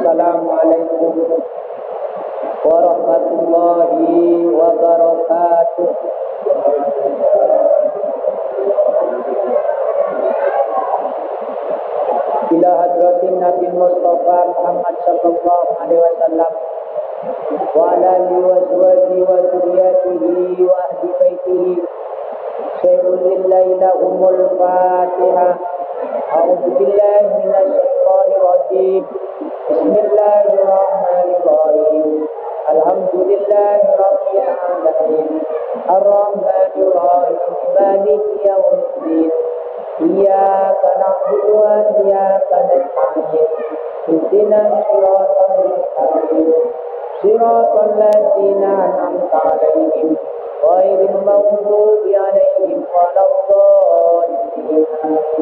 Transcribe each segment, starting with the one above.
Assalamualaikum warahmatullahi wabarakatuh. Ila hadratin Nabi Mustafa Muhammad sallallahu alaihi wasallam wa ala alihi wa azwajihi wa dzurriyyatihi wa ahli baitihi. Sayyidul lillahi lahumul Fatihah. A'udzu billahi minasy syaithanir rajim. Bismillahirrahmanirrahim. Alhamdulillahi rabbil alamin. Ar-rahmanir rahim. Maliki yaumiddin. Iyyaka na'budu wa iyyaka nasta'in. Ihdinas siratal mustaqim. Siratal ladzina an'amta 'alaihim ghairil maghdubi 'alaihim waladdallin.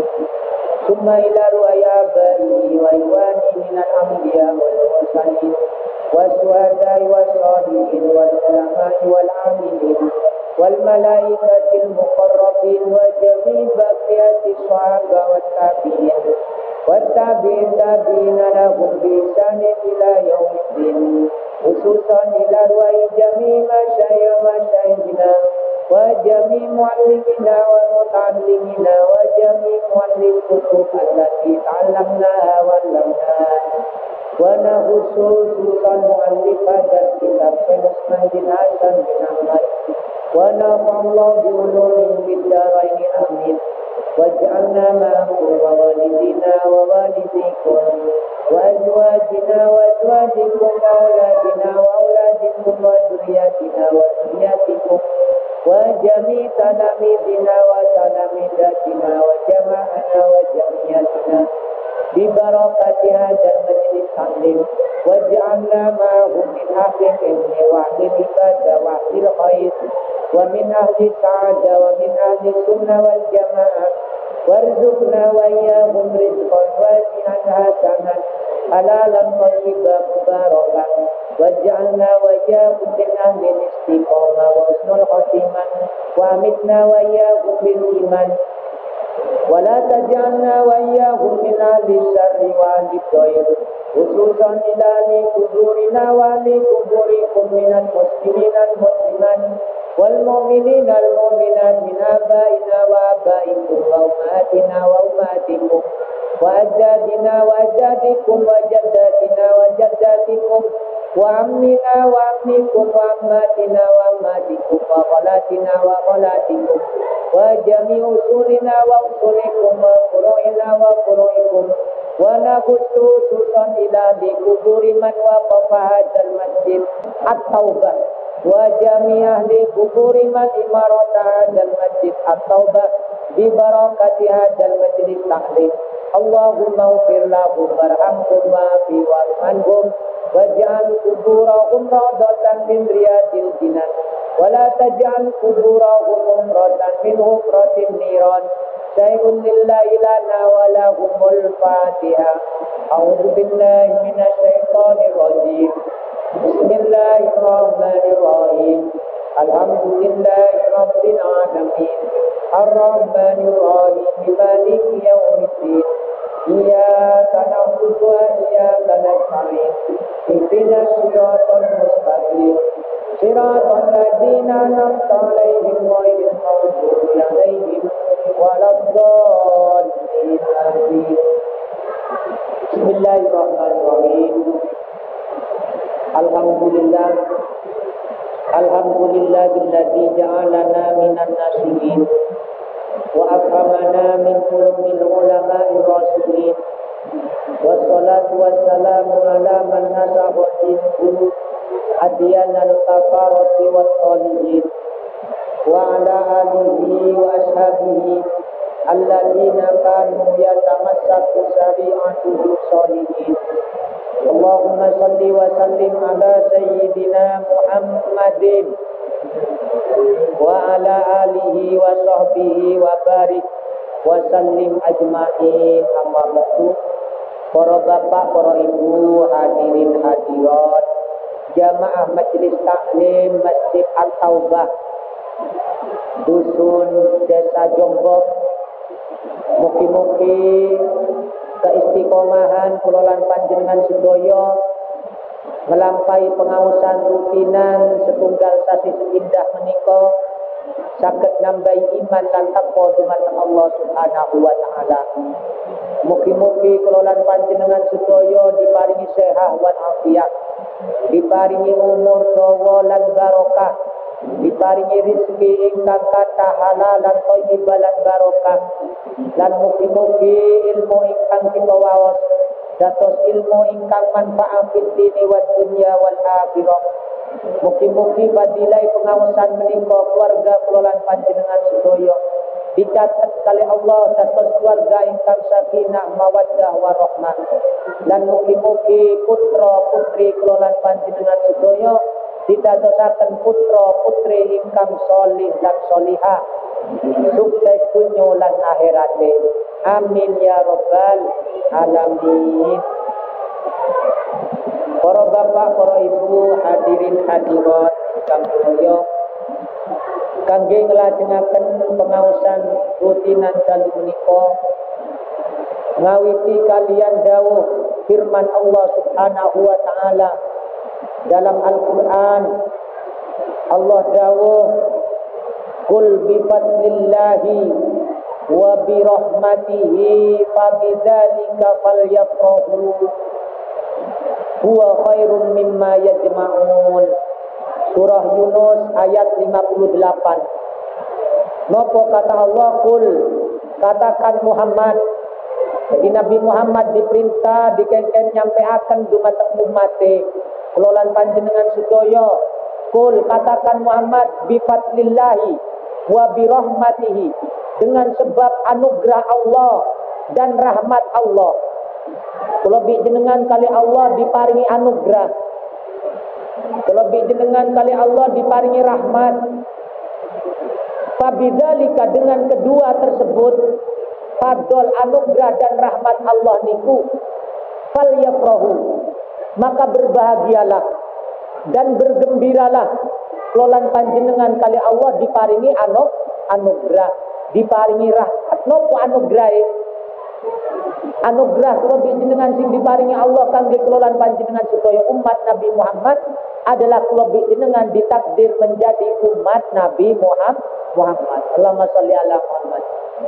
Summa ila ru'ayabaihi wa iwani minal anbiya wal mursalin wassuhada'i wassalihin wal ulama'i wal 'amilin wal malaikatil muqarrabin wa jami' baqiyatis sahaba wat tabi'in wat tabi'ina lahum bi ihsanin ila yaumiddin. Khususan ila ru'ay jami' masyayikhina wa jami' muallimina wa muta'allimina wa jami' muallim kutub allati ta'allamnaha wa 'allamnaha wa khususan muallifat kitab Muslim bin Hasan bin Ahmad wa nafa'allahu bi ulumin fid dharain amin. Waj'alna ma'akum wa walidina wa walidikum wa azwajina wa azwajikum wa auladina wa auladikum wa dzurriyyatina wa dzurriyyatikum wa jami' talamidina wa talamidatina wa jama'ana wa jami'atina bi barakati hadzal majlis taklim. Waj'alna ma'ahum min ahli ilmi wa ahli ibadah wa ahli khair wa min ahli sa'adah wa min ahli sunnah wal jamaah. Warzuqna wa iyyahum rizqan wasi'an hasanan halalan thayyiban mubarakan. Waj'alna wa iyyahum min ahli istiqamah wa husnul khatimah wa amitna wa iyyahum bil iman wa la taj'alna wa iyyahum min ahli syarri wa ahli dhair. Khususan ila li kuburina wa li kuburikum minal muslimina al muslimat wal mu'minina al mu'minat min abaina wa abaikum wa ummatina wa ummatikum wa ajdadina wa ajdadikum wa jaddatina wa jaddatikum wa ammina wa ammikum wa ammatina wa ammatikum wa khalatina wa khalatikum wa jami' usulina wa usulikum wa furu'ina wa furu'ikum wa nakhussu susan ila di kuburi man waqafa hadzal masjid at-taubah wa jami' ahli kuburi man imarata hadzal masjid at-taubah bi barakati hadzal majlis taklim. Allahumma ighfir lahum warhamhum wa'fi warhamhum waj'al kuburahum rawdatan min riyadil jinan wa la taj'al kuburahum umratan min hufratin niran. Sayyidul lillahi lana wa lahumul Fatihah. A'udzu billahi minasy syaithanir rajim. Bismillahirrahmanirrahim. Alhamdulillahi rabbil alamin. Ar-rahmanir rahim. Maliki yaumiddin. Iyyaka na'budu wa iyyaka nasta'in. Ihdinas siratal mustaqim. Siratal ladzina an'amta 'alaihim ghairil maghdubi 'alaihim waladdallin. Amin. Bismillahirrahmanirrahim. Alhamdulillah. Alhamdulillahilladzi ja'alana minan nasihin wa akramana min ulumil ulama'i rasulin. Wassalatu wassalamu ala man nasaha dinul adyanal kafarati wat talihin wa ala alihi wa ashabihi alladzina kanu yatamassaku syari'atuhu sholihin. Allahumma salli wa sallim ala sayyidina Muhammadin wa ala alihi wa sahbihi wa barik wa sallim ajma'in. Amma ba'du. Para bapak, para ibu, hadirin hadirat, jamaah majelis taklim Masjid At-Taubah Dusun Desa Jombok, mugi-mugi keistiqomahan kulolan panjenengan sedaya melampaui pengawasan rutinan setunggal sasi seindah menika saged nambahi iman lan takwa dumateng Allah Subhanahu wa taala. Mugi-mugi kulolan panjenengan sedaya diparingi sehat wal afiat, diparingi umur dawa lan barokah, diparingi rezeki ingkang kathah halal lan thayyibah lan barokah, lan mugi-mugi ilmu ingkang kita waos dados ilmu ingkang manfaat fid dini wad dunya wal akhirah. Mugi-mugi fadilah pengawasan menika keluarga kulolan panjenengan sedaya dicatat kali Allah dados keluarga ingkang sakinah mawaddah warahmah, lan mugi-mugi putra putri kulolan panjenengan sedaya didadosaken putra putri ingkang sholih lan sholihah, sukses dunya lan akhirate. Amin ya rabbal alamin. Para bapak, para ibu, hadirin hadirat kang mulya, kangge nglajengaken pengaosan rutinan dalu menika ngawiti kalian dawuh firman Allah Subhanahu wa taala dalam Al-Qur'an. Allah dawuh, "Qul bi fadlillahi wa bi rahmatihi fabidzalika falyafrahu huwa khairum mimma yajma'un." Surah Yunus ayat 58. Napa kata Allah? Qul, katakan Muhammad. Jadi Nabi Muhammad diperintah dikengken nyampeaken dumateng ummate kelolan panjenengan sedaya. Qul, katakan Muhammad, bi fadlillahi wa bi rahmatihi, dengan sebab anugerah Allah dan rahmat Allah. Kula jenengan kali Allah diparingi anugerah, kula jenengan kali Allah diparingi rahmat. Fabidzalika, dengan kedua tersebut, fadl anugerah dan rahmat Allah niku, falyafrahu, maka berbahagialah dan bergembiralah kelolan panjenengan kali Allah diparingi anugerah, diparingi rahmat. Nopo anugerah? Anugerah kula jenengan sing diparingi Allah kangge kelolan panjenengan sedaya umat Nabi Muhammad adalah kula jenengan ditakdir menjadi umat Nabi Muhammad. Allahumma sholli ala Muhammad.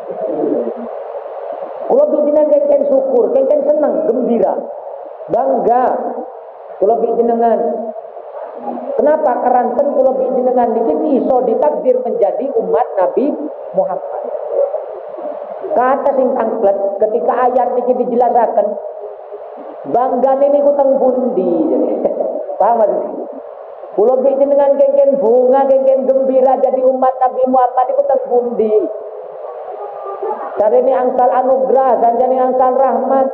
Kula jenengan kengken syukur, kengken seneng, gembira, bangga kula jenengan. Kenapa? Karanten kula jenengan niki iso ditakdir menjadi umat Nabi Muhammad. Kata sing tangklet ketika ayat niki dijelasaken bangga niku teng pundi. Paham maksudnya? Kula jenengan kengken bunga, kengken gembira jadi umat Nabi Muhammad iku teng pundi. Carane angsal anugerah sanjane angsal rahmat.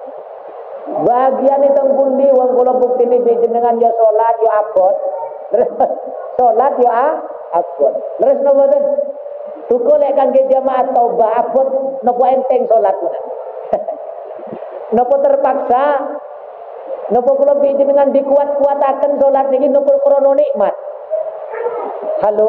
Bagian teng pundi wong kula buktine jenengan yo salat yo abot. Salat yo abot. Terus napa ten? Syukur lek kangge jamaah taubah abot napa enteng salat pun. Napa terpaksa? Napa kula jenengan dikuat-kuataken salat niki napa krana nikmat? Halo.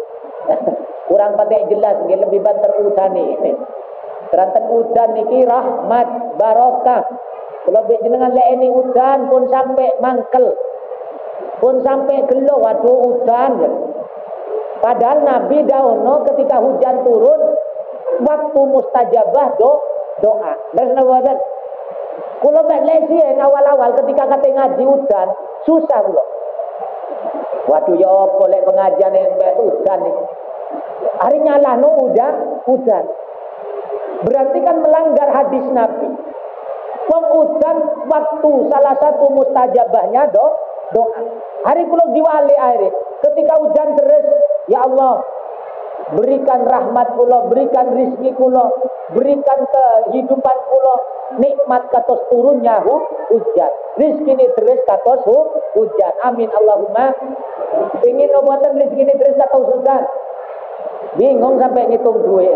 Kurang patek jelas nggih, lebih banter udane. Teranten udan niki rahmat, barokah. Kula jenengan lek ini udan pun sampai mangkel. Pun sampai gelo, waduh udan. Padahal Nabi daono ketika hujan turun waktu mustajabah doa. Terus napa? Kula lesi awal-awal ketika kate ngaji udan susah kula. Waduh ya apa lek pengajian mbek udan iki. Hari nyalahno udan. Berarti kan melanggar hadis Nabi. Wong udan waktu salah satu mustajabahnya doa. Hari kula diwali akhirnya ketika hujan deres, ya Allah berikan rahmat kula, berikan rizki kula, berikan kehidupan kula, nikmat katos turunnya hujan, rizki ini deres katos hujan. Amin Allahumma. Ingin obatan rizki ini deres katos hujan, bingung sampai ngitung duit.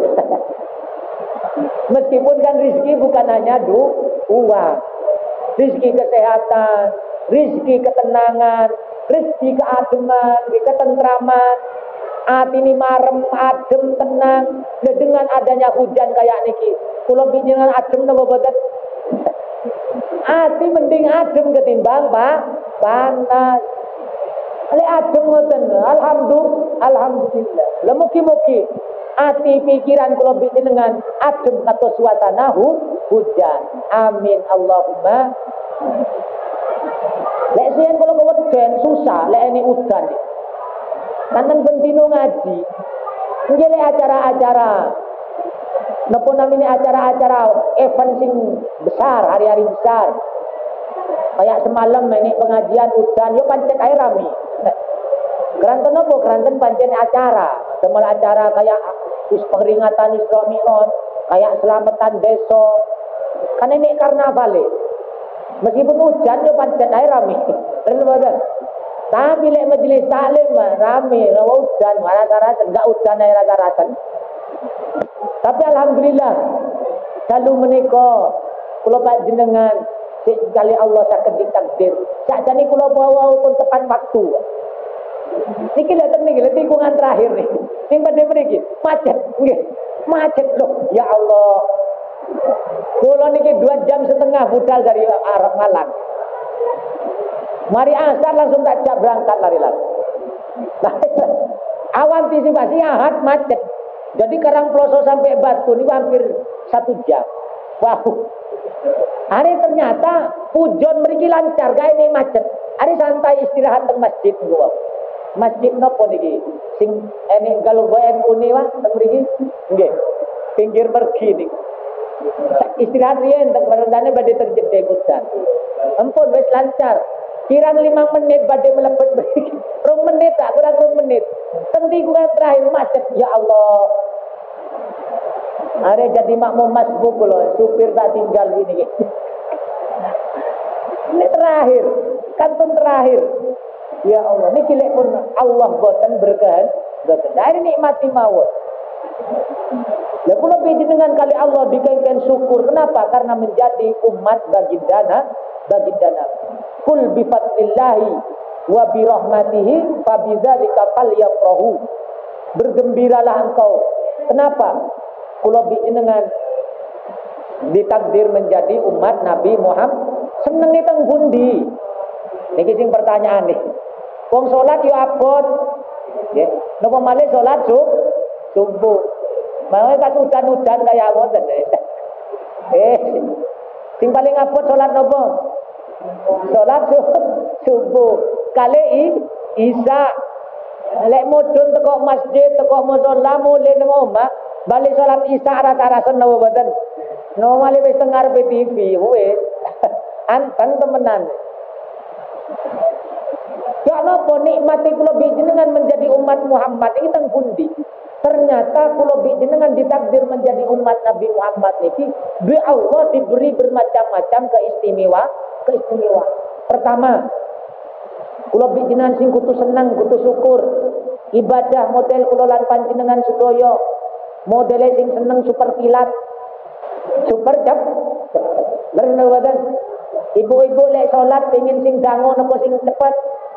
Meskipun kan rizki bukan hanya uang, rizki kesehatan, rizki ketenangan, rizki keademan, ketentraman, hati ini marem, adem, tenang. Dengan adanya hujan kayak niki, kula jenengan adem napa boten? Ati mending adem ketimbang panas. Lek adem ngoten, alhamdulillah. Lah mugi-mugi ati pikiran kula jenengan adem kados suasana hujan. Amin Allahumma. Lek sing kula keweden susah lek ini udan. Kanten bentino ngaji. Nggih lek acara-acara napa namanya acara-acara event sing besar, hari-hari besar. Kayak semalam ini pengajian udan, yo pancen ae rame. Keranten napa? Keranten pancen acara. Semua acara kayak peringatan Isra Mi'raj, kayak selamatan desa. Kan ini karnaval. Meskipun hujan yo pancen ae rame. Tapi lek majelis taklim rame, hujan, rasa-rasa enggak hujan ae rasa-rasa. Tapi alhamdulillah selalu menika kula panjenengan sekali Allah saged ditakdir. Sakjane kula bawa pun tepat waktu. Niki lek tikungan terakhir nih. Sing pada mriki macet nggih. Macet loh, ya Allah. Kula niki 2,5 jam budal dari arah Malang. Mari asar langsung tak jak berangkat lari-lari. Antisipasi ahad macet. Jadi Karangploso sampai Batu ini hampir 1 jam. Wow. Hari ternyata pujon mriki lancar, gawe ini macet. Hari santai istirahat teng masjid gua. Masjid nopo niki? Sing ene galugo NU ni wah teng mriki. Nggih. Pinggir mergi niki. Istirahat riyen teng barendane badhe terjedek hujan. Ampun wis lancar. Kirang 5 menit badhe mlebet mriki. 2 menit tak kurang 2 menit. Teng tikungan terakhir macet, ya Allah. Are jadi makmum masbuk loh, supir tak tinggal ini. Ini terakhir, kantun terakhir. Ya Allah, ini kilek pun Allah boten berkehendak. Dari nikmati mawon. Ya kula dengan kali Allah dikengken syukur. Kenapa? Karena menjadi umat baginda Kul bi fadlillahi wa bi rahmatihi fa bidzalika falyafrahu. Bergembiralah engkau. Kenapa? Kula dengan ditakdir menjadi umat Nabi Muhammad. Seneng nih teng pundi? Niki sing pertanyaan nih. Wong salat yo abot. Nggih. Napa malih salat subuh. Mau pas udan-udan kaya ngoten. Sing paling abot salat napa? Salat subuh. Kali Isya. Lek mudhun teko masjid, teko musala mulih nang omah, balik salat Isya rata-rata napa mboten? No malih wis teng ngarepe TV, wis. Anteng temenan. Ya napa nikmati kula jenengan menjadi umat Muhammad iki teng pundi? Ternyata kula jenengan ditakdir menjadi umat Nabi Muhammad niki bi Allah diberi bermacam-macam keistimewaan. Pertama, kula jenengan sing kudu seneng, kudu syukur. Ibadah model kula lan panjenengan sedaya model sing seneng super kilat. Super cepet. Leren wadan. Ibu-ibu lek salat pengin sing dangu napa sing cepet.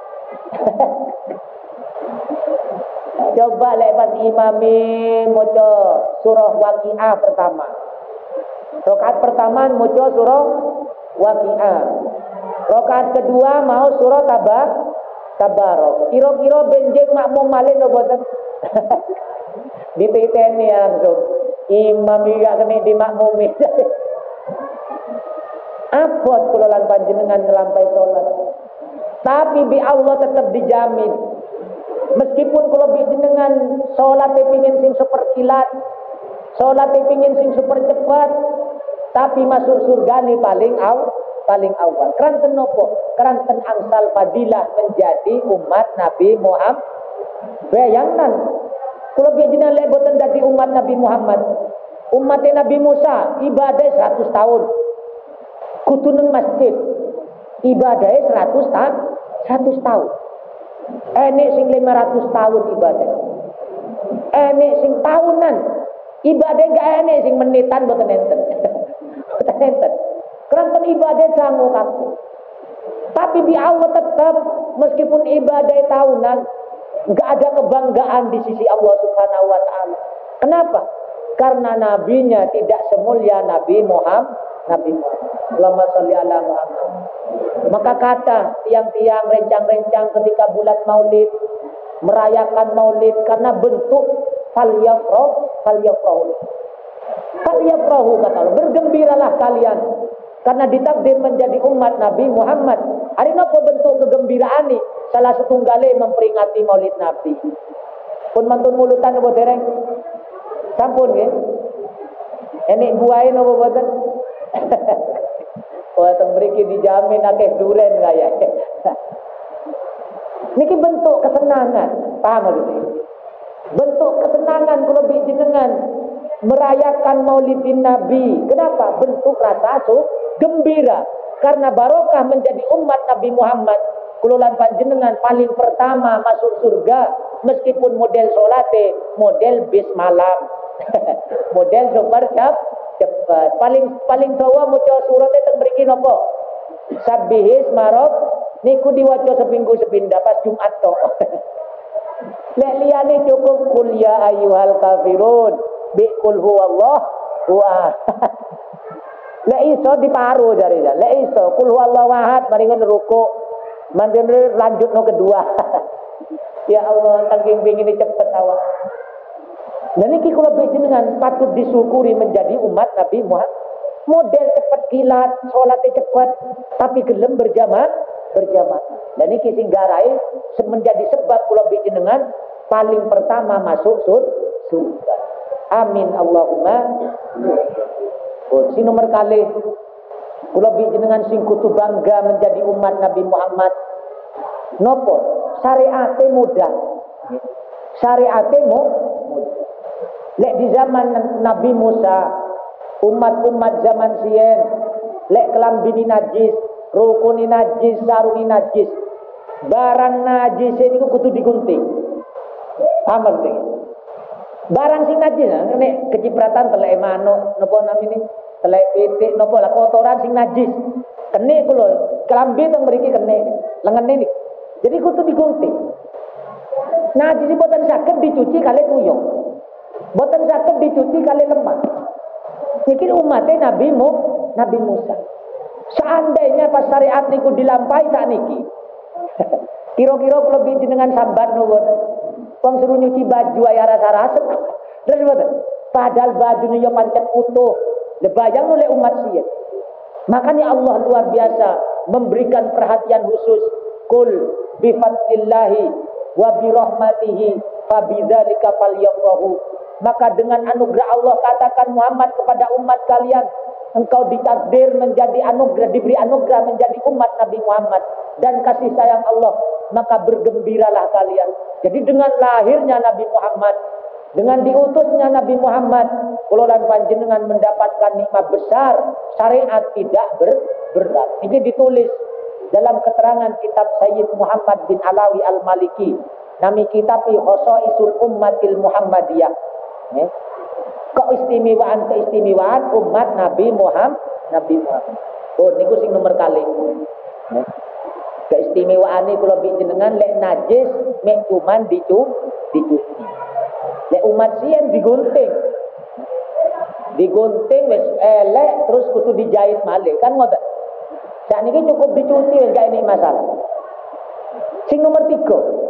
Coba lek pas imami maca surah Waqiah pertama. Rakaat pertama maca surah Waqiah. Rakaat kedua mau surah Tabarok. Kira-kira benjing makmum malih napa boten? Dititeni langsung. Imam iki gak kene dimakmumi. Abot kula lan panjenengan nglampahi salat. Tapi bi Allah tetap dijamin. Meskipun kula jenengan salat pengin sing super kilat, salat pengin sing super cepat, tapi masuk surga ni paling awal. Keranten nopo? Keranten angsal fadilah menjadi umat Nabi Muhammad. Bayangkan, kula jenengan lek boten dadi umat Nabi Muhammad, umat Nabi Musa ibadah 100 tahun. Kudu nang masjid. Ibadahnya 100 tahun. Enek sing 500 tahun ibadah. Enek sing tahunan. Ibadah gak enek sing menitan boten enten. Boten enten. Keranten ibadah sangu kaku. Tapi di Allah tetap meskipun ibadah tahunan gak ada kebanggaan di sisi Allah Subhanahu wa taala. Kenapa? Karena nabinya tidak semulia Nabi Muhammad. Nabi Muhammad. Allahumma sholli ala Muhammad. Maka kata tiang-tiang rencang-rencang ketika bulan Maulid, merayakan Maulid karena bentuk falyafrahu kata Allah, bergembiralah kalian karena ditakdir menjadi umat Nabi Muhammad. Hari napa bentuk kegembiraan ini? Salah setunggale memperingati Maulid Nabi. Pun mantun mulutan apa dereng? Sampun nggih. Enek buahe napa boten? Wah, teng mriki dijamin akeh duren kaya. Niki bentuk kesenangan, paham maksudnya? Bentuk kesenangan kula jenengan merayakan Maulidin Nabi. Kenapa? Bentuk rasa gembira karena barokah menjadi umat Nabi Muhammad. Kula lan panjenengan paling pertama masuk surga meskipun model salate model bis malam. Model super cepat. Paling dawa maca surate teng mriki napa? Sabbihis marab niku diwaca seminggu sepindah pas Jumat to. Lek liyane cukup kul ya ayyuhal kafirun bi qul huwallah huwa. Lek iso diparu jare. Lek iso kul huwallahu ahad mari ngono ruku. Mandiri lanjut no kedua. Ya Allah, saking pengin cepet awak. Dan ini kula jenengan patut disyukuri menjadi umat Nabi Muhammad. Model cepat kilat, salatnya cepat, tapi gelem berjamaah. Dan ini sing garai menjadi sebab kula jenengan paling pertama masuk surga. Amin Allahumma. Oh, si nomor kali kula jenengan sing kudu bangga menjadi umat Nabi Muhammad. Nopo? Syariate mudah. Syariate mudah. Lek di zaman Nabi Musa, umat-umat zaman sien, lek kelambini najis, rukuni najis, sarungi najis, barang najis ini kudu digunting. Paham penting? Barang sing najis, nek kecipratan telek manuk, napa namine? Telek pitik, napa lah kotoran sing najis. Kene ku lho, kelambi teng mriki kene, lengene niki. Jadi kudu digunting. Najis boten saged dicuci kali tuyul. Boten saged dicuci kali lemah. Niki umatnya Nabi Musa. Seandainya pas syariat niku dilampahi sak niki. Kira-kira kula jenengan sambat nuwun. Wong suruh nyuci baju aya rasa-rasa. Terus boten. Padahal bajune yo pancet utuh. Lebayang oleh umat sien. Makanya Allah luar biasa memberikan perhatian khusus. Qul bi fadlillahi wa bi rahmatihi fabidzalika falyafrahu. Maka dengan anugerah Allah katakan Muhammad kepada umat kalian, engkau ditakdir menjadi anugerah, diberi anugerah menjadi umat Nabi Muhammad dan kasih sayang Allah, maka bergembiralah kalian. Jadi dengan lahirnya Nabi Muhammad, dengan diutusnya Nabi Muhammad, kula lan panjenengan mendapatkan nikmat besar, syariat tidak berat. Ini ditulis dalam keterangan kitab Sayyid Muhammad bin Alawi Al-Maliki. Nami kitab Khosaisul Ummatil Muhammadiyah. Keistimewaan umat Nabi Muhammad. Oh niku sing nomor kali. Keistimewaan ini kula jenengan lek najis mek kuman dicuci. Lek umat sien digunting. Digunting wis elek terus kudu dijahit malih kan ngoten. Sakniki cukup dicuci wis gak enek masalah. Sing nomor 3.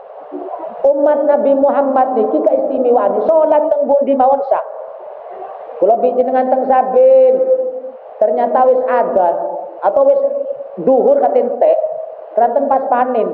Umat Nabi Muhammad niki keistimewaan salat teng pundi mawon sah. Kula jenengan teng Sabin ternyata wis adzan atau wis duhur katentek ranten pas panen.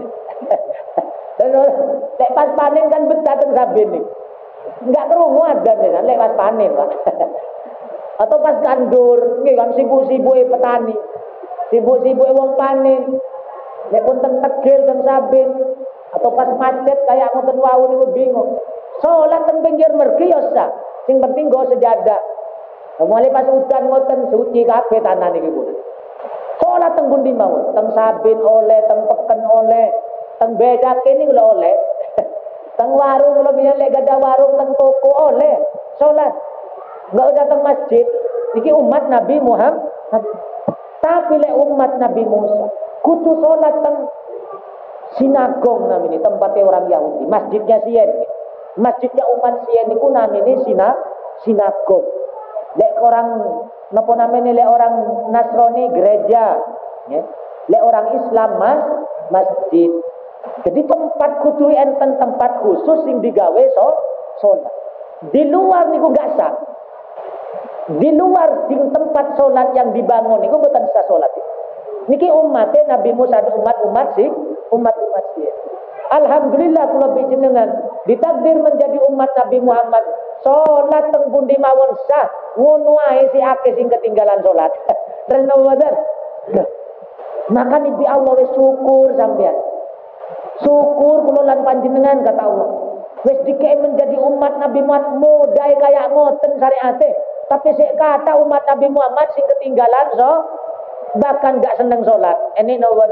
Lek pas panen kan betah teng Sabin nih. Enggak krungu adzan ya lek pas panen, Pak. Atau pas kandur, nggih kan sibuk-sibuke petani. Sibuk-sibuke wong panen. Lek pun teng Tegel teng Sabin atau pas macet kayak ngoten wau niku bingung. Salat teng pinggir mergi ya sah. Sing penting go sejadah. Mulai pas udan ngoten suci kabeh tanah niki pun. Salat teng pundi mawon? Teng Sabin oleh, teng Peken oleh, teng Bedake niku lho oleh. Teng warung kula biyen lek gadah warung teng toko oleh salat. Enggak usah teng masjid. Niki umat Nabi Muhammad. Tapi lek umat Nabi Musa kudu salat teng sinagong namanya tempatnya orang Yahudi, masjidnya sien, masjidnya umat sien itu namanya sinagong. Lek orang Napa namanya lek orang Nasrani gereja, ya. Lek orang Islam masjid. Jadi tempat kudu enten tempat khusus sing digawe salat. Di luar niku gak sah. Di luar di tempat salat yang dibangun niku mboten sah salat. Niki umatnya Nabi Musa umat sih. Alhamdulillah kula panjenengan ditakdir menjadi umat Nabi Muhammad. Salat teng pundi mawon sah. Ngono ae si akeh sing ketinggalan salat. Terus nopo. Maka nibi Allah wis syukur sampean. Syukur kula lan panjenengan kata Allah. Wis dikei menjadi umat Nabi Muhammad modai kayak ngoten syariate. Tapi sik kata umat Nabi Muhammad sing ketinggalan bahkan gak seneng salat. Ini nopo.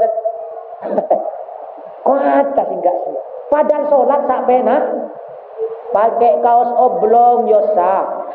Kata sing gak seneng. Padahal salat sak penak. Pakai kaos oblong yo sah.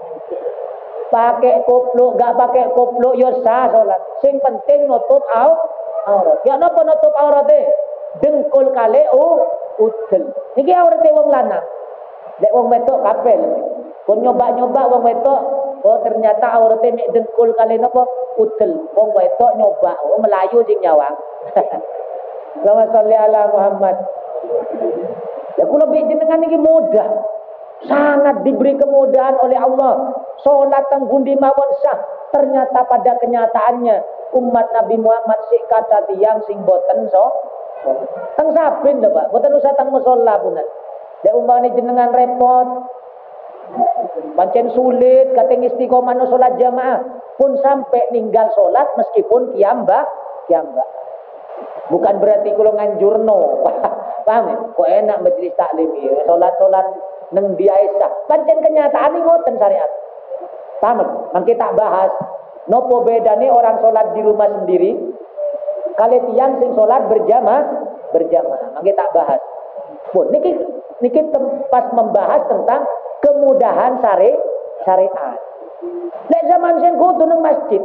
Pakai kupluk gak pakai kupluk yo sah salat. Sing penting nutup aurat. Ya napa nutup aurate? Dengkul kali udel. Niki aurate wong lanang. Lek wong wedok kapel. Pun nyoba-nyoba wong wedok, oh ternyata aurate mek dengkul kali napa? Udel. Wong wedok nyoba, oh Melayu sing nyawang. Allahumma sholli ala Muhammad. Ya kula jenengan iki mudah. Sangat diberi kemudahan oleh Allah. Salat teng pundi mawon sah. Ternyata pada kenyataannya umat Nabi Muhammad sik kata tiyang sing boten teng sabin lho Pak. Boten usah teng musala punan. Lek umpamane jenengan repot pancen sulit kateng istiqomah no salat jamaah pun sampai ninggal salat meskipun kiambak. Bukan berarti kula nganjurno. Paham ya? Kok enak majelis taklim ya. Salat-salat nang biasa. Pancen kenyataan iki ngoten syariat. Paham? Mangke tak bahas. Nopo bedane orang salat di rumah sendiri kali tiyang sing salat berjamaah. Mangke tak bahas. Pun niki pas membahas tentang kemudahan syariat. Lek zaman sen kudu nang masjid.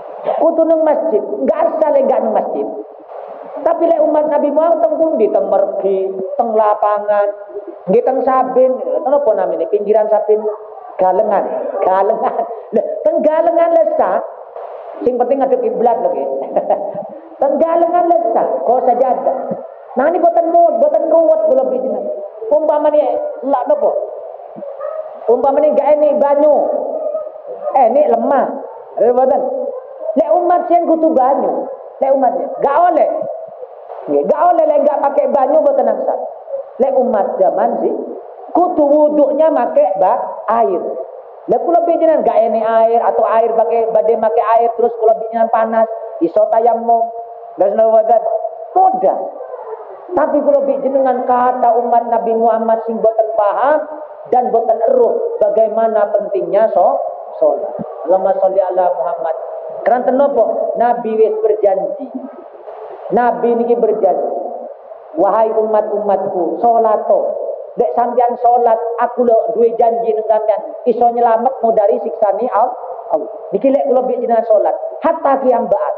Enggak asal enggak nang masjid. Tapi lek umat Nabi Muhammad teng pundi, teng mergi, teng lapangan, nggih teng sabin, napa namine pinggiran sabin galengan. Lah teng galengan lesah. Sing penting ngadep kiblat lho nggih. Teng galengan lesah, kok sajadah. Nah ini boten kuat kula bijinan. Umpamane lak napa? Umpamane gak enek banyu. Enek lemah. Boten. Lek umat sing kudu banyu. Lek umatnya gak oleh. Gak oleh lek gak pakai banyu boten sah. Lek umat zaman sih kudu wuduknya make air. Lek kula bijinan gak enek air atau air badhe make air terus kula bijinan panas, iso tayammum. Dan boten mudah. Tapi kula bijinan kata umat Nabi Muhammad sing boten paham dan boten eruh bagaimana pentingnya salat. Allahumma sholli ala Muhammad. Keranten napa? Nabi wis berjanji. Nabi niki berjanji. Wahai umat-umatku, salato. Dek sampeyan salat, aku lho duwe janji nang sampeyan iso nyelametmu dari siksane Allah. Niki lek kula jenengan salat, hatta kiambaan.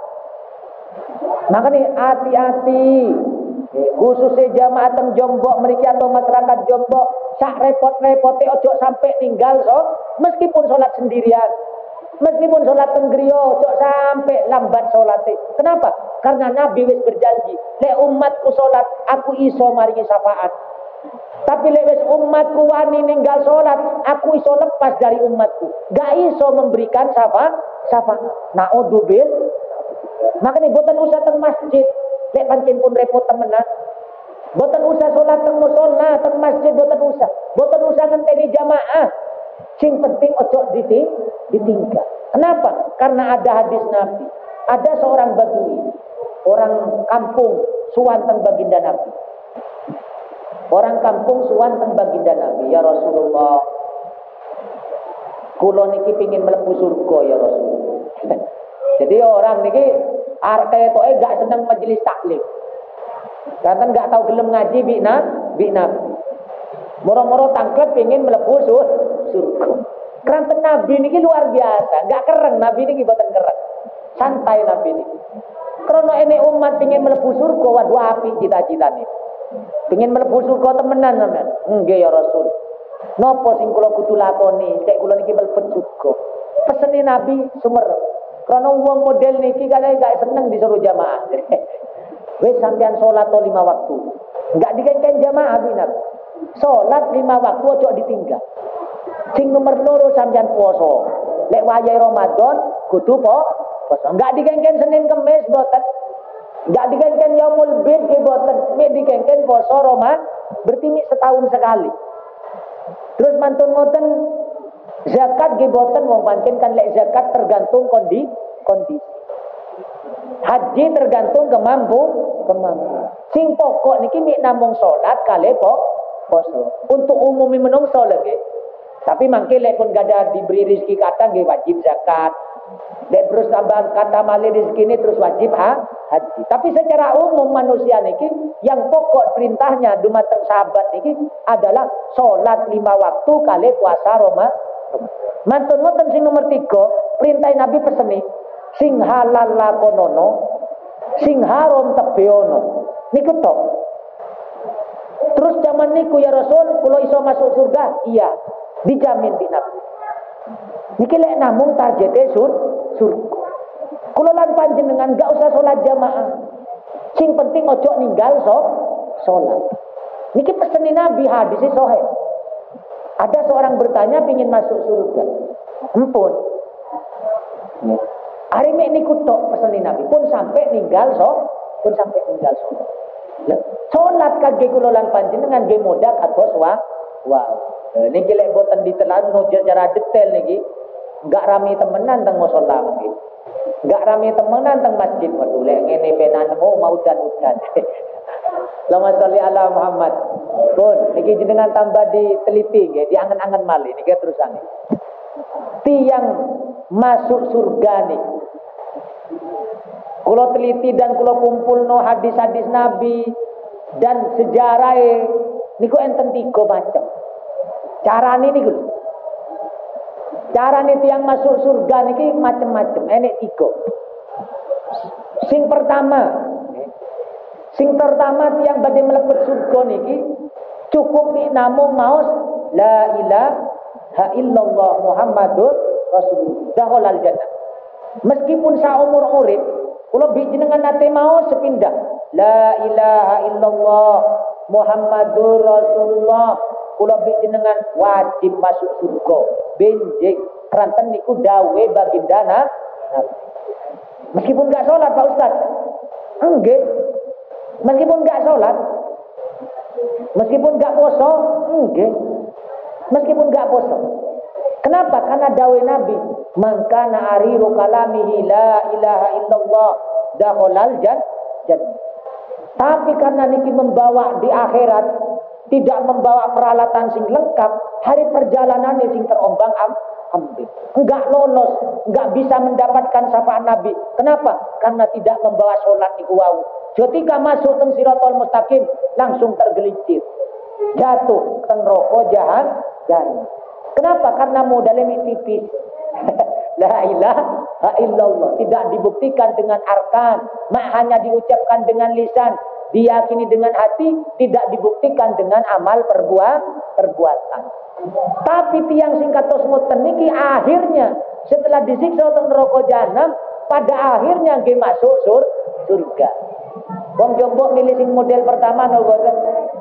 Makanya hati-hati. Khususnya jamaah teng Jombok mriki atau masyarakat Jombok, sak repot-repote ojo sampai ninggal meskipun salat sendirian. Meskipun sholat tenggriyo, cok sampai lambat sholatnya. Kenapa? Karena Nabi wis berjanji, lek umatku sholat, aku iso maringi syafaat. Tapi lek wis umatku wani ninggal sholat, aku iso lepas dari umatku. Gak iso memberikan syafaat. Na'udzubil. Makanya boten usah teng masjid. Lek pancen pun repot temenan. Boten usah sholat teng mushola, teng masjid boten usah. Boten usah ngenteni jamaah. Sing penting ojo ditinggal. Kenapa? Karena ada hadis Nabi. Ada seorang badui, orang kampung suwan teng baginda Nabi. Orang kampung suwan teng baginda Nabi, ya Rasulullah. Kula niki pengin mlebu surga ya Rasulullah. Jadi orang niki arep ketoke gak seneng majelis taklim. Karena gak tahu gelem ngaji bi Nabi. Moro-moro tangklet pengin mlebu surga. Kerana Nabi ini luar biasa, gak kereng Nabi ini boten kereng, santai Nabi ini. Karena ini umat ingin mlebu surga, waduh api cita-cita nih. Ingin mlebu surga temenan sampean. Nggih ya Rasul. Napa sing kula kudu lakoni, cek kula niki mlebu surga. Pesene Nabi sumerep. Karena wong model niki kadang gak seneng disuruh jamaah. Wes sampean salat 5 waktu. Enggak dikengken jamaah binar. Salat 5 waktu ojo ditinggal. Sing nomor loro sampean puasa. Lek wayahe Ramadan kudu puasa. Enggak dikengken Senin Kamis boten. Enggak dikengken Yaumul Bid nggih boten. Mek dikengken puasa Ramadan berarti mik setahun sekali. Terus mantun ngoten zakat nggih boten wong pancen kan lek zakat tergantung kondisi. Haji tergantung kemampuan. Sing pokok niki mik namung salat kali poso. Untuk umumi menungso lagi. Tapi mangke lek pun gada diberi rezeki kata nggih wajib zakat. Lek terus tambah kata malih rezeki ini terus wajib haji. Tapi secara umum manusia niki yang pokok perintahnya dumateng sahabat niki adalah salat 5 waktu kali puasa Ramadan. Mantun ngoten sing nomor 3, perintah Nabi peseni sing halal lakonono, sing haram tebeono. Niku tok. Terus zaman niku ya Rasul, kula iso masuk surga? Iya, dijamin bi Nabi. Niki lek namung targete surga. Kula lan panjenengan gak usah salat jamaah. Sing penting ojo ninggal salat. Niki peseni Nabi, hadis sahih. Ada seorang bertanya pingin masuk surga. Empun. Hari niku tok peseni Nabi pun sampai ninggal salat. Salat kage kula lan panjenengan nggih modak atos wow. Niki lek boten ditelano secara detail niki enggak rame temenan teng musala niki. Enggak rame temenan teng masjid. Waduh lek ngene penan mau udan-udan. Allahumma sholli ala Muhammad. Pun niki jenengan tambah diteliti nggih, diangen-angen malih niki terusane. Tiang masuk surga nih. Kula teliti dan kula kumpulno hadis-hadis Nabi dan sejarah niku enten 3 macam. Carane niku. Carane tiang masuk surga niki macam-macam, enek 3. Sing pertama tiang badhe mlebet surga niki cukup namung maos la ilaha illallah Muhammadur Rasulullah dakhalal jannah. Meskipun saumur urip kula bi jenengan nate maos sepindah la ilaha illallah Muhammadur Rasulullah, kula bi jenengan wajib masuk surga. Benjing kranten niku dawe baginda Nabi. Meskipun enggak salat Pak Ustaz. Nggih. Meskipun enggak salat, meskipun enggak poso, nggih. Meskipun enggak poso. Kenapa? Karena dawe Nabi, "Man kana ariru kalamihi la ilaha illallah dakhalal jannah." Tapi karena niki membawa di akhirat, tidak membawa peralatan sing lengkap, hari perjalanan sing terombang-ambing. Enggak lolos, enggak bisa mendapatkan syafaat Nabi. Kenapa? Karena tidak membawa salat niku wau. Ketika masuk teng Siratal Mustaqim langsung tergelincir. Jatuh teng neraka jahanam. Kenapa? Karena modalnya tipis. La ilaha illallah tidak dibuktikan dengan arkan, hanya diucapkan dengan lisan, diyakini dengan hati, tidak dibuktikan dengan amal perbuatan. Tapi tiang singkat tosmoten niki akhirnya setelah disiksa teng neraka jahanam, pada akhirnya nggih masuk surga. Wong jombok milih sing model pertama no boten.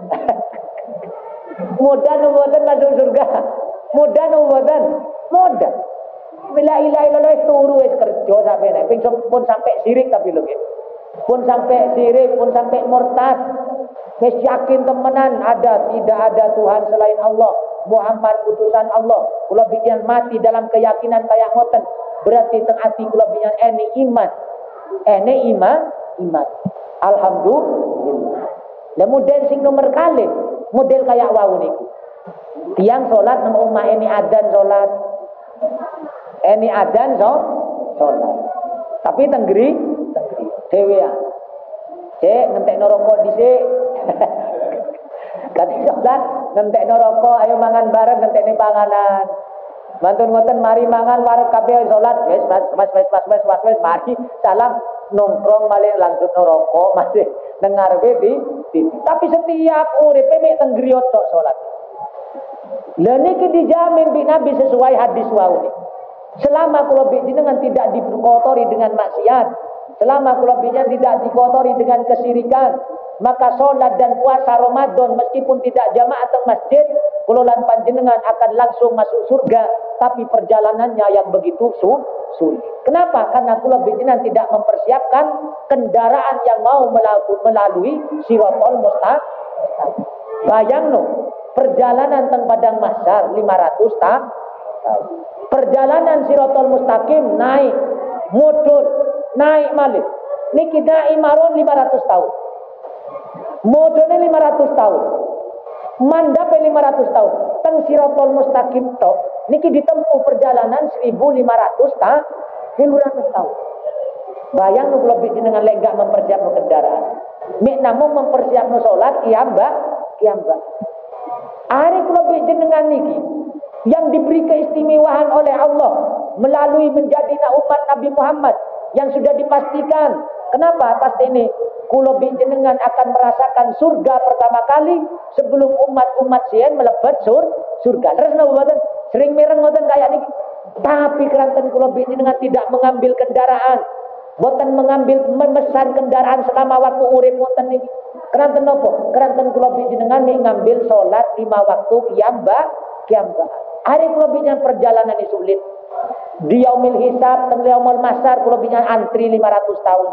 Modal no boten masuk surga. Modal no boten. Modal. La ilaha illallah turu wis kerja sampai nek pun sampai sirik tapi lho nggih. Pun sampai sirik, pun sampai murtad. Wis yakin temenan tidak ada Tuhan selain Allah. Muhammad utusan Allah. Kula bijan mati dalam keyakinan kayak ngoten. Berarti teng ati kula bijan iman. Iman. Alhamdulillah. Lah model sing nomor kali, model kayak wau niku. Tiang salat nang omah ini adzan salat. Ini adzan salat. Tapi tenggeri dhewean. Cek ngentekno rokok dhisik. Kan salat ngentekno rokok, ayo mangan bareng ngentekne panganan. Mantun ngoten mari mangan wareg kabeh salat wis mas mari salam nongkrong malih lanjut rokok masih dengar di tapi setiap uripe mek teng griya tok salat. Lah niki dijamin bi Nabi sesuai hadis wau niki. Selama kula jenengan tidak dikotori dengan maksiat, selama kula jenengan tidak dikotori dengan kesirikan, maka sholat dan puasa Ramadan meskipun tidak jamaah teng masjid, kula lan panjenengan akan langsung masuk surga, tapi perjalanannya yang begitu sulit. Kenapa? Karena kula jenengan tidak mempersiapkan kendaraan yang mau melalui Siratal Mustaqim. Bayangno, perjalanan teng padang mahsyar 500 tahun. Perjalanan Siratal Mustaqim naik, mudun, naik malih. Niki naik maron 500 tahun. Mudune 500 tahun. Mandape 500 tahun. Teng Siratal Mustaqim tok niki ditempuh perjalanan 1500 tahun. Bayang nu kula jenengan lek gak mempersiapkan kendaraan. Mek namung mempersiapkan salat kiambak. Ari kula jenengan niki yang diberi keistimewaan oleh Allah melalui menjadi umat Nabi Muhammad yang sudah dipastikan. Kenapa? Pasti ini kula jenengan akan merasakan surga pertama kali sebelum umat-umat sien melebat surga. Terus napa sering mireng ngoten kayak niki. Tapi keranten kula jenengan tidak mengambil kendaraan, boten mengambil memesan kendaraan selama waktu urip ngoten niki. Keranten napa? Keranten kula jenengan ngambil salat 5 waktu kiambak. Hari kula jenengan perjalanan ini sulit. Di yaumil hisab, teng yaumul mahsyar kula jenengan antri 500 tahun.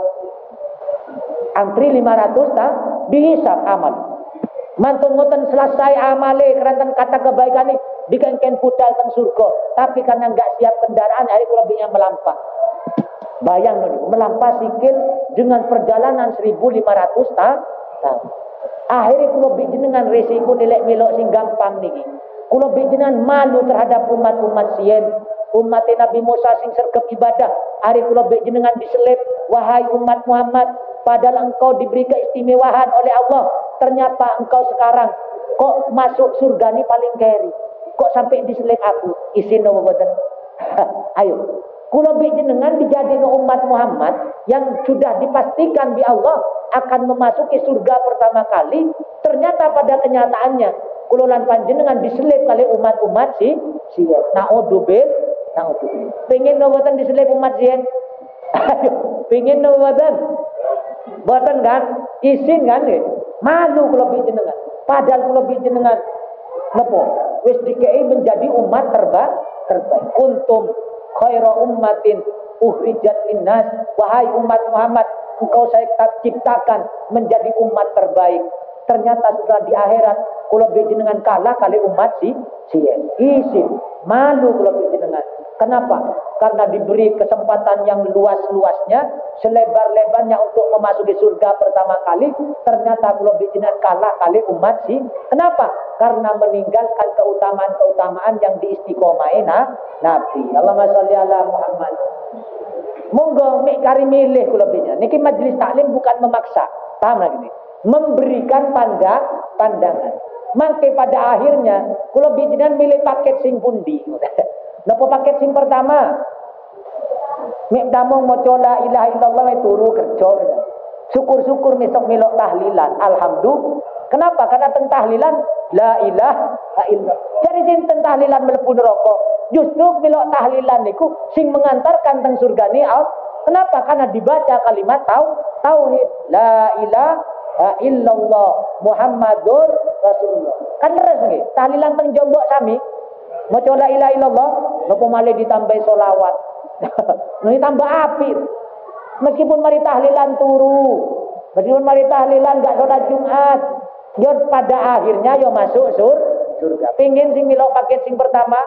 Antri 500 tahun dihisab amal. Mantun ngoten selesai amale keranten kata kebaikan ini dikengken budal teng surga. Tapi karena enggak siap kendaraan hari kula jenengan melampah. Bayang niku melampah sikil dengan perjalanan 1500 tahun. Akhirnya kula jenengan resiko nilai melok sing gampang niki. Kula jenengan malu terhadap umat-umat sien. Umat Nabi Musa sing sergap ibadah. Hari kula jenengan diselip, wahai umat Muhammad, padahal engkau diberi keistimewaan oleh Allah. Ternyata engkau sekarang kok masuk surga ni paling keri. Kok sampai diselip aku? Isin nopo boten. Ayo. Kula jenengan dijadikan umat Muhammad yang sudah dipastikan di Allah akan memasuki surga pertama kali. Ternyata pada kenyataannya kula lan panjenengan diselip kali umat-umat sien. Naudzubillah. Pengen noboten diselip umat sien? Ayo, pengen noboten? Boten kan? Isin kan nggih. Malu kula jenengan. Padahal kula jenengan napa? Wis dikei menjadi umat terbaik. Kuntum khaira ummatin uhrijat linnas. Wahai umat Muhammad, engkau saya ciptakan menjadi umat terbaik. Ternyata sudah di akhirat kula jenengan kalah kali umat sien. Isin malu kula jenengan. Kenapa? Karena diberi kesempatan yang luas-luasnya, selebar-lebarnya untuk memasuki surga pertama kali, ternyata kula jenengan kalah kali umat sien. Kenapa? Karena meninggalkan keutamaan-keutamaan yang diistiqomai Nabi. Allahumma sholli ala Muhammad. Monggo mik kari milih kula jenengan. Niki majelis taklim bukan memaksa. Paham lagi nih? Memberikan pandangan. Mangke pada akhirnya kula jenengan milih paket sing pundi. Napa paket sing pertama? Mik damung maca la ilaha illallah turu kerja. Syukur-syukur besok melok tahlilan. Alhamdulillah. Kenapa? Karena teng tahlilan la ilaha illallah. Jadi sing teng tahlilan mlebu neraka. Justru melok tahlilan niku sing mengantarkan teng surga ni. Kenapa? Karena dibaca kalimat tauhid. La ilaha illallah Muhammadur Rasulullah. Kan leres nggih. Tahlilan teng jombok sami. Maca la ilaha illallah, napa malih ditambahi selawat. Ini tambah api. Meskipun mari tahlilan turu, meskipun mari tahlilan enggak salat Jumat, yo pada akhirnya yo masuk surga. Pengin sing milok paket sing pertama.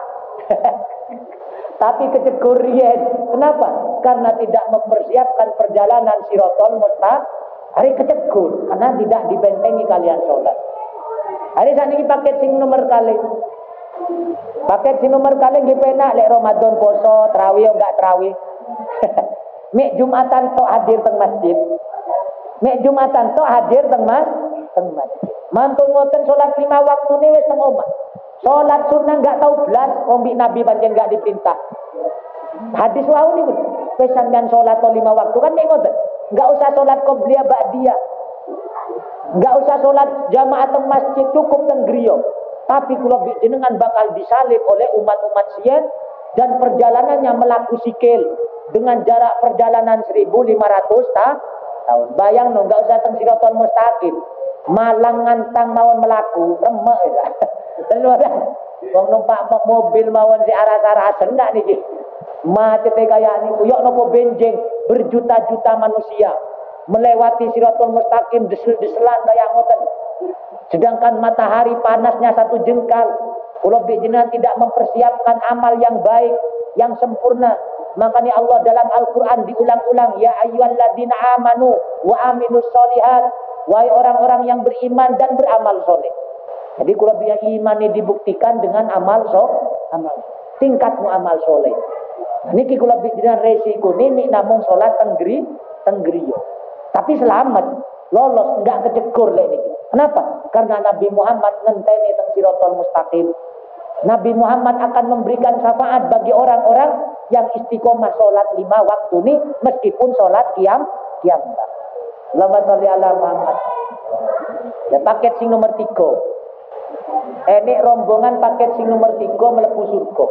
Tapi kecegur riyen. Kenapa? Karena tidak mempersiapkan perjalanan Siratal Mustaqim. Hari kecegur karena tidak dibentengi kalian salat. Hari sakniki paket sing nomor kali. Paket si nomor kali nggih penak lek Ramadan poso, tarawih enggak tarawih. Mek Jumatan tok hadir teng masjid. Mek Jumatan tok hadir teng masjid. Mantun ngoten salat 5 waktune wis teng omah. Salat sunah enggak tahu blas, wong Nabi pancen enggak diperintah. Hadis wau niku wis sampean salat 5 waktu kan nek ngoten. Enggak usah salat qobliyah ba'diyah. Enggak usah salat jamaah teng masjid, cukup teng griya. Tapi kula jenengan bakal disalib oleh umat-umat sien dan perjalanannya melaku sikil dengan jarak perjalanan 1.500 tahun. Bayang no, enggak usah teng Siratal Mustaqim. Malang ngantang mawon melaku, remek ya. Wong numpak mobil mawon si aras-arasen enggak niki. Macet kaya niku yo nopo benjing berjuta-juta manusia melewati Siratal Mustaqim desel-deselan kaya ngoten. Sedangkan matahari panasnya 1 jengkal. Kalau jenengan tidak mempersiapkan amal yang baik, yang sempurna, makanya Allah dalam Al-Qur'an diulang-ulang, ya ayyuhalladzina amanu wa aminus sholihat, wahai orang-orang yang beriman dan beramal soleh. Jadi kalau biar iman ini dibuktikan dengan amal tingkatmu amal soleh. Niki kula bicara resiko nimi namung salat tenggriyo. Tapi selamat, lolos, enggak kecekur lek niki. Kenapa? Karena Nabi Muhammad ngenteni teng Siratal Mustaqim. Nabi Muhammad akan memberikan syafaat bagi orang-orang yang istiqomah salat 5 waktu ini meskipun salat qiyam. Allahumma sholli ala Muhammad. Ya paket sing nomor 3. Ini rombongan paket sing nomor 3 mlebu surga.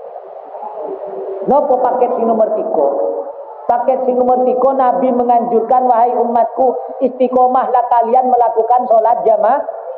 Nopo paket sing nomor 3? Paket sing nomor 3 Nabi menganjurkan, wahai umatku, istiqomahlah kalian melakukan sholat jamaah.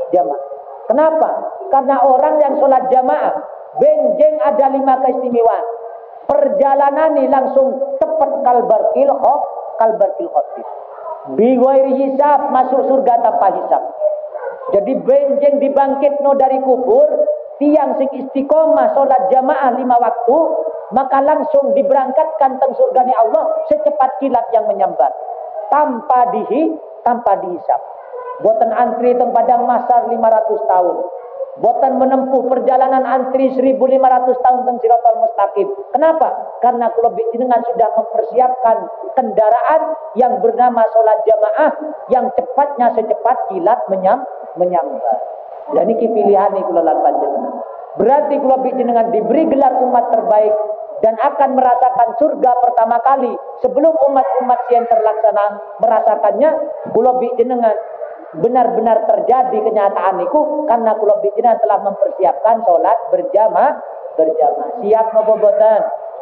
Kenapa? Karena orang yang sholat jamaah benjeng ada 5 keistimewaan. Perjalanan ini langsung tepat kalbarkil khotif. Bighairi hisab, masuk surga tanpa hisab. Jadi benjeng dibangkit no dari kubur, tiang sing istiqomah sholat jamaah 5 waktu, maka langsung diberangkatkan teng surganya Allah secepat kilat yang menyambar, tanpa dihisab. Boten antri teng padang mahsyar 500 tahun. Boten menempuh perjalanan antri 1.500 tahun teng Siratal Mustaqim. Kenapa? Karena kula jenengan sudah mempersiapkan kendaraan yang bernama sholat jamaah yang cepatnya secepat kilat menyambar. Dan ini pilihan nih kula lan panjenengan. Berarti kula jenengan diberi gelar umat terbaik dan akan merasakan surga pertama kali sebelum umat-umat yang terlaksana merasakannya. Kula jenengan benar-benar terjadi kenyataan itu karena kula jenengan telah mempersiapkan sholat berjamaah. Siap napa boten?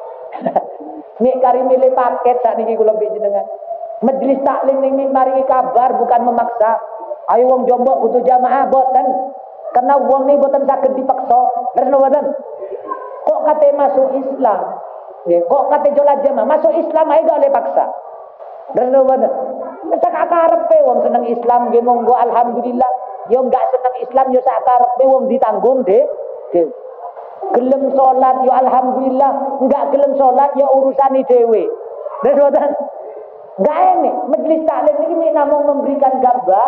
Nek kari milih paket sakniki kula jenengan. Majelis taklim ini mari kabar bukan memaksa. Ayo wong Jombok butuh jamaah boten. Karena wong ini boten saged dipaksa. Terus boten. Kok kate masuk Islam? Kok kate sholat jamaah masuk Islam ae gak oleh paksa. Terus boten. Sak akarepe wong seneng Islam nggih monggo alhamdulillah. Yo enggak seneng Islam yo sak akarepe wong ditanggung deh. Gelem salat yo alhamdulillah, enggak gelem salat yo urusane dhewe. Terus boten. Enggak ini majelis taklim ini namung memberikan gambar.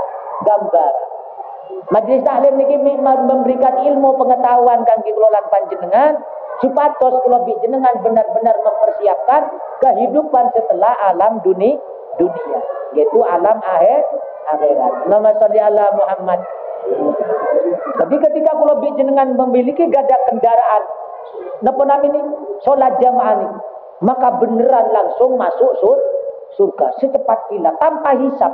Majelis taklim niki memberikan ilmu pengetahuan kangge kula lan panjenengan supados kula jenengan benar-benar mempersiapkan kehidupan setelah alam dunia, yaitu alam akhirat. Allahumma sholli ala Muhammad. Tapi ketika kula jenengan memiliki gada kendaraan napa namanya salat jamaah ini, maka beneran langsung masuk surga secepat kilat tanpa hisab.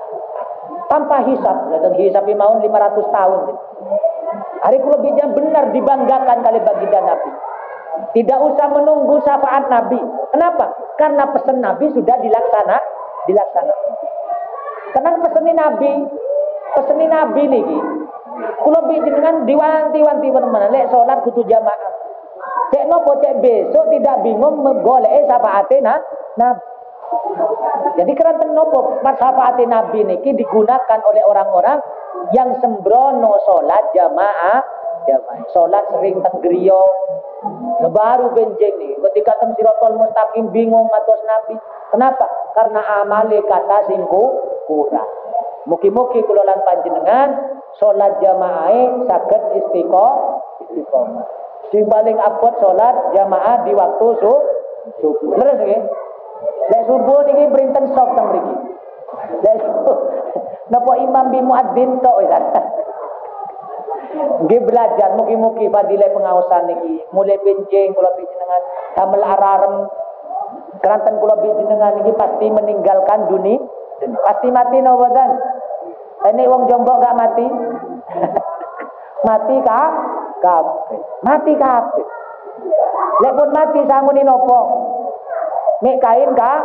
Dan hisab mau 500 tahun. Hari kula benar dibanggakan kali baginda Nabi. Tidak usah menunggu syafaat Nabi. Kenapa? Karena pesan Nabi sudah dilaksanakan. Karena pesan Nabi niki. Kula jenengan diwanti-wanti teman-teman lek salat kudu jamaah. Cek nopo cek besok tidak bingung menggoleki syafaate Nabi. Jadi keranten nopo syafaat Nabi niki digunakan oleh orang-orang yang sembrono sholat jamaah, sholat sering tenggriyo, baru benjeng nih. Ketika teng Siratal Mustaqim bingung matos Nabi. Kenapa? Karena amale kata singku kurang. Mugi-mugi kula lan panjenengan sholat jamaah saged istiqomah. Sing paling abot sholat jamaah di waktu subuh. Leres nggih? Lek subuh niki berinten sok teng mriki. Lek napa imam bi muadzin tok wis. Nggih belajar mugi-mugi fadilah pengaosan niki mulai benjing kula panjenengan damel ararem keranten kula panjenengan niki pasti meninggalkan dunia. Pasti mati napa boten? Ini wong Jombok gak mati. Mati kabeh. Lek pun mati sanguni nopo? Mek kain kah?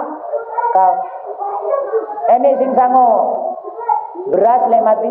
Enek sing sango beras lek mati.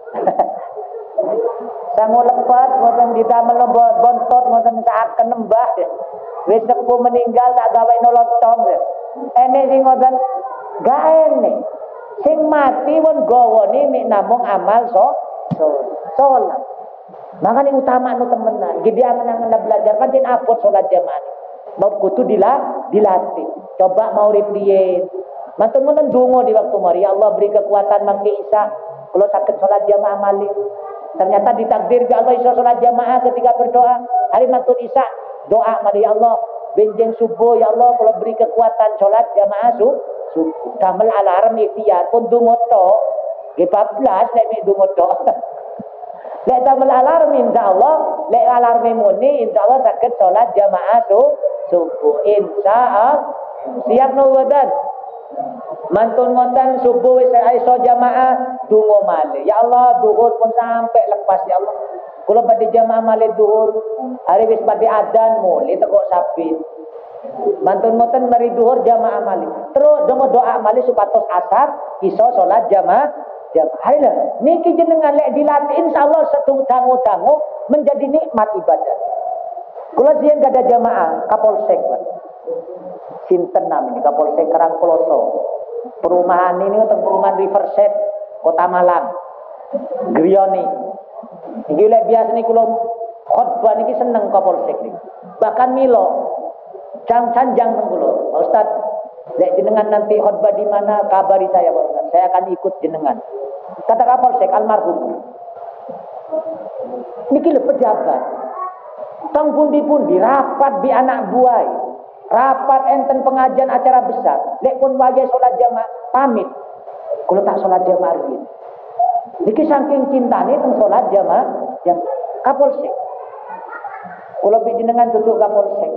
Sango lepat ngoten didamel bontot ngoten saaken nembah. Wis sepuh meninggal tak gawe nolotong. Enek sing ngoten gak enek. Sing mati pun gawone mek namung amal salat. Makanya utama nu temenan. Gede angan-angan belajar pancen apot salat jamaah. Mau kudu dilatih. Coba mau ripiye. Mantun-mantun donga di waktu mari. Ya Allah beri kekuatan mangke Isa. Kalau sakit salat jamaah malih. Ternyata ditakdir ke Allah Isa salat jamaah ketika berdoa. Hari mantun Isa doa malih ya Allah. Benjeng subuh ya Allah kalau beri kekuatan salat jamaah subuh. Damel alarm ikhtiar pun donga tok. Ge 14 lek mek donga tok. Lek damel alarm insyaallah, lek alarm muni insyaallah saged salat jamaah subuh insyaallah. Siap no wadan. Mantun ngoten subuh wis iso jamaah donga malih. Ya Allah zuhur pun sampai lepas ya Allah. Kula badhe jamaah malih zuhur, hari wis badhe adzan mulih teko sabit. Mantun ngoten mari zuhur jamaah malih. Terus doa malih supados asar iso salat jamaah. Hari lah, niki jenengan lek dilatih insyaallah dangu-dangu menjadi nikmat ibadah. Kula sien gada jamaah Kapolsek, Pak. Sinten namanya Kapolsek Karangploso. Perumahan ini untuk perumahan Riverside Kota Malang. Grioni. Iki lek biasa niku kula khotbah niki seneng Kapolsek niki. Bahkan milo canjang teng kula. Pak Ustaz, lek jenengan nanti khotbah di mana kabari saya Pak Ustaz. Saya akan ikut jenengan. Kata Kapolsek almarhum. Niki lho pejabat. Tang pundi-pundi rapat di anak buah. Rapat enten pengajian acara besar. Lek pun wajah salat jamaah pamit. Kalau tak salat jamaah riyin. Niki saking cintane teng salat jamaah yang Kapolsek. Kula jenengan duduk Kapolsek.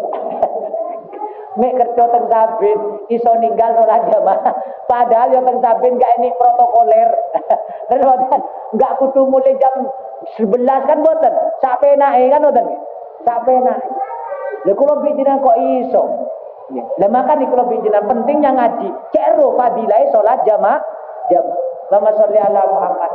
Mek kerja teng Sabin iso ninggal salat jamaah. Padahal yang teng Sabin gak enik protokoler. Terus boten enggak kudu mulai jam 11 kan boten. Sak penake kan boten. Sak penake. Lha kula jenengan kok iso. Lah makane kula jenengan pentingnya ngaji. Cero fadilah salat jamaah. Allahumma sholli ala Muhammad.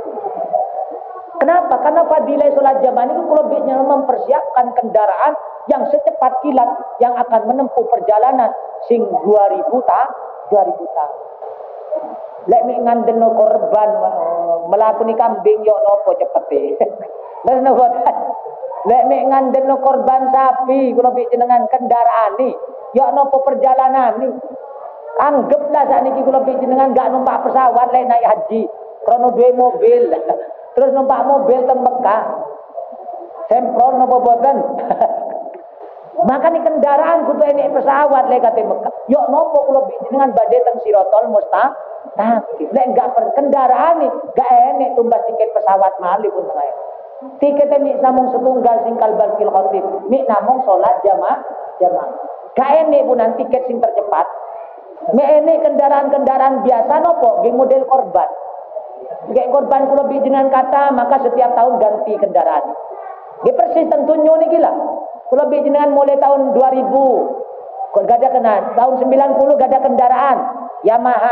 Kenapa? Karena fadilah salat jamaah ini kula jenengan mempersiapkan kendaraan yang secepat kilat yang akan menempuh perjalanan sing 2000 tahun. Lek mi ngandeno korban melakoni kambing yo nopo cepete. Terus nopo. Lek mi ngandeno korban sapi kula jenengan kendaraane yo nopo perjalanan ni. Anggaplah sakniki kula jenengan gak numpak pesawat lek naik haji. Krono duwe mobil. Terus numpak mobil teng Mekah. Sempron nopo boten. Maka ni kendaraan kudu enek pesawat lek kate Mekah. Yo nopo kula jenengan badhe teng Siratal Mustaqim. Lek enggak kendaraan ni gak enek tumbas tiket pesawat malih pun tengah. Tiket mik namung setunggal sing kalbal fil khatib. Mik namung salat jamaah. Gak enek punan tiket sing tercepat. Mik enek kendaraan-kendaraan biasa nopo nggih model korban. Nggih korban kula jenengan kata maka setiap tahun ganti kendaraan. Nggih persis tentunya niki lah. Kula jenengan mulai tahun 2000 gada kena tahun 90 gada kendaraan Yamaha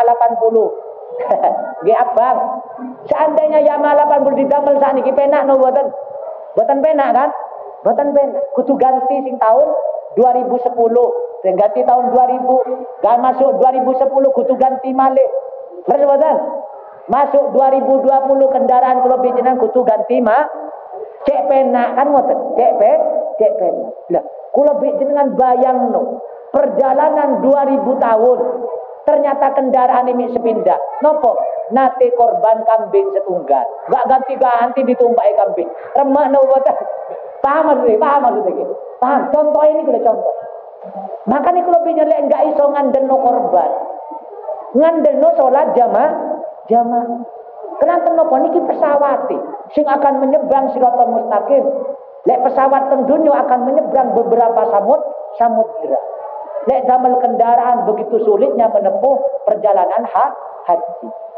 80. Nggih abang. Seandainya Yamaha 80 didamel sakniki penak no boten? Boten penak kan? Boten penak. Kudu ganti sing tahun 2010. Sing ganti tahun 2000, gak masuk 2010 kudu ganti malih. Terus boten? Masuk 2020 kendaraan kula jenengan kudu ganti cek penak kan ngoten. Cek penak. Lah, kula jenengan bayangno perjalanan 2000 tahun. Ternyata kendaraan ini sepindah. Nopo? Nate korban kambing setunggal. Gak ganti-ganti ditumpaki kambing. Remah no boten. Paham maksudnya? Paham. Contoh ini kula contoh. Makanya kula lek enggak iso ngandeno korban. Ngandeno salat jamaah. Kenapa nopo niki pesawate sing akan menyeberang Siratal Mustaqim. Lek pesawat teng dunya akan menyeberang beberapa samudra. Lek damel kendaraan begitu sulitnya menempuh perjalanan haji.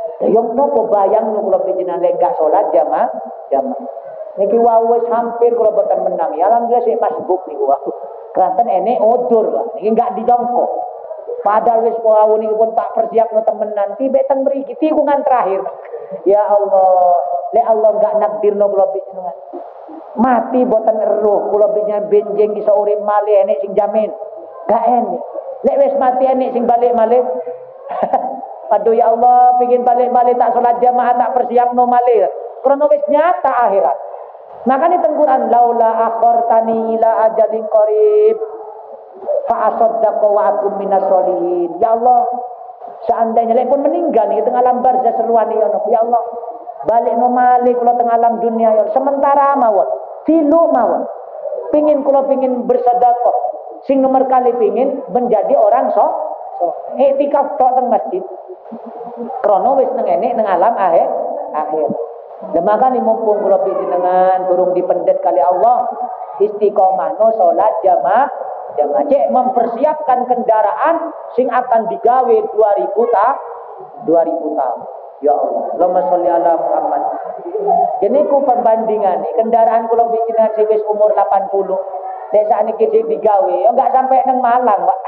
Yang nopo bayang nu kula panjenengan lek gak salat jamaah. Niki wau wis hampir kula boten menang. Ya alhamdulillah sik masbuk niku wau. Keranten enek odur Pak. Niki gak dijongkok. Padahal wis wau niki pun tak persiapno temenan. Tibe teng mriki tikungan terakhir. Ya Allah, lek Allah gak nakdirno kula panjenengan. Mati boten eruh kula panjenengan benjing iso urip malih enek sing jamin. Gak enek. Lek wis mati enek sing balik malih. Aduh ya Allah, pengin balik-balik tak salat jamaah tak persiapno malih. Karena wis nyata akhirat. Makanya tengguran laula akhartani ila ajalin qarib fa asaddaqa wa akum minas solihin. Ya Allah, seandainya lek pun meninggal nih tengah alam barzah seruan ya Allah. Balik no malih kula tengah alam dunia ya. Sementara mawon, tilu mawon. Pengin bersedekah. Sing nomor kali pengin menjadi orang iktikaf tok teng masjid. Krono wis nang enek nang alam akhir. Demakan mumpung kula panjenengan durung dipendet kali Allah, istiqomah no salat jamaah. Cek mempersiapkan kendaraan sing akan digawe 2000 tahun. Ya Allah, Allahumma sholli ala Muhammad. Jadi ku perbandingan nih, kendaraan kula panjenengan sing wis umur 80. Nek sakniki sing digawe, ya enggak sampai nang Malang, Pak.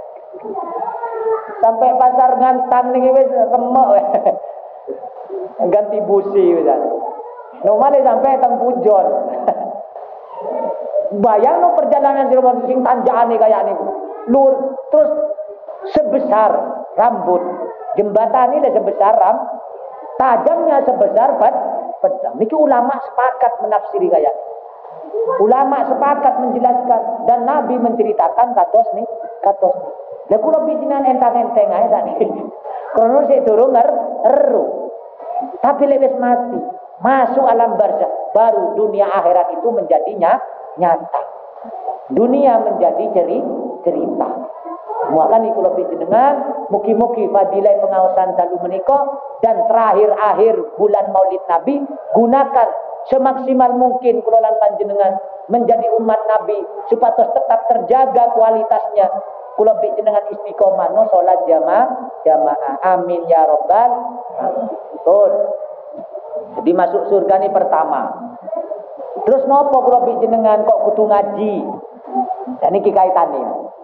Sampai pasar ngantang niki wis remek weh. Ganti busi wis. Nomale sampai teng Pujon. Bayang perjalanan sing tanjakane kayak niku. Lur terus sebesar rambut. Jembatan ini sebesar tajamnya sebesar pedang. Niki ulama sepakat menafsiri kayak. Ulama sepakat menjelaskan dan Nabi menceritakan katos nih. Lah kula panjenengan entang-enteng ae tadi. Krono sik durung eru. Tapi lek wis mati, masuk alam barzah, baru dunia akhirat itu menjadinya nyata. Dunia menjadi cerita. Muakan kula panjenengan mugi-mugi fadilah pengaosan dalu menika dan terakhir bulan Maulid Nabi gunakan semaksimal mungkin kula lan panjenengan menjadi umat Nabi supados tetap terjaga kualitasnya. Kula panjenengan istiqomah no salat jamaah. Amin ya rabbal alamin. Betul. Jadi masuk surga ini pertama. Terus nopo kula panjenengan kok kudu ngaji? Dan iki kaitane.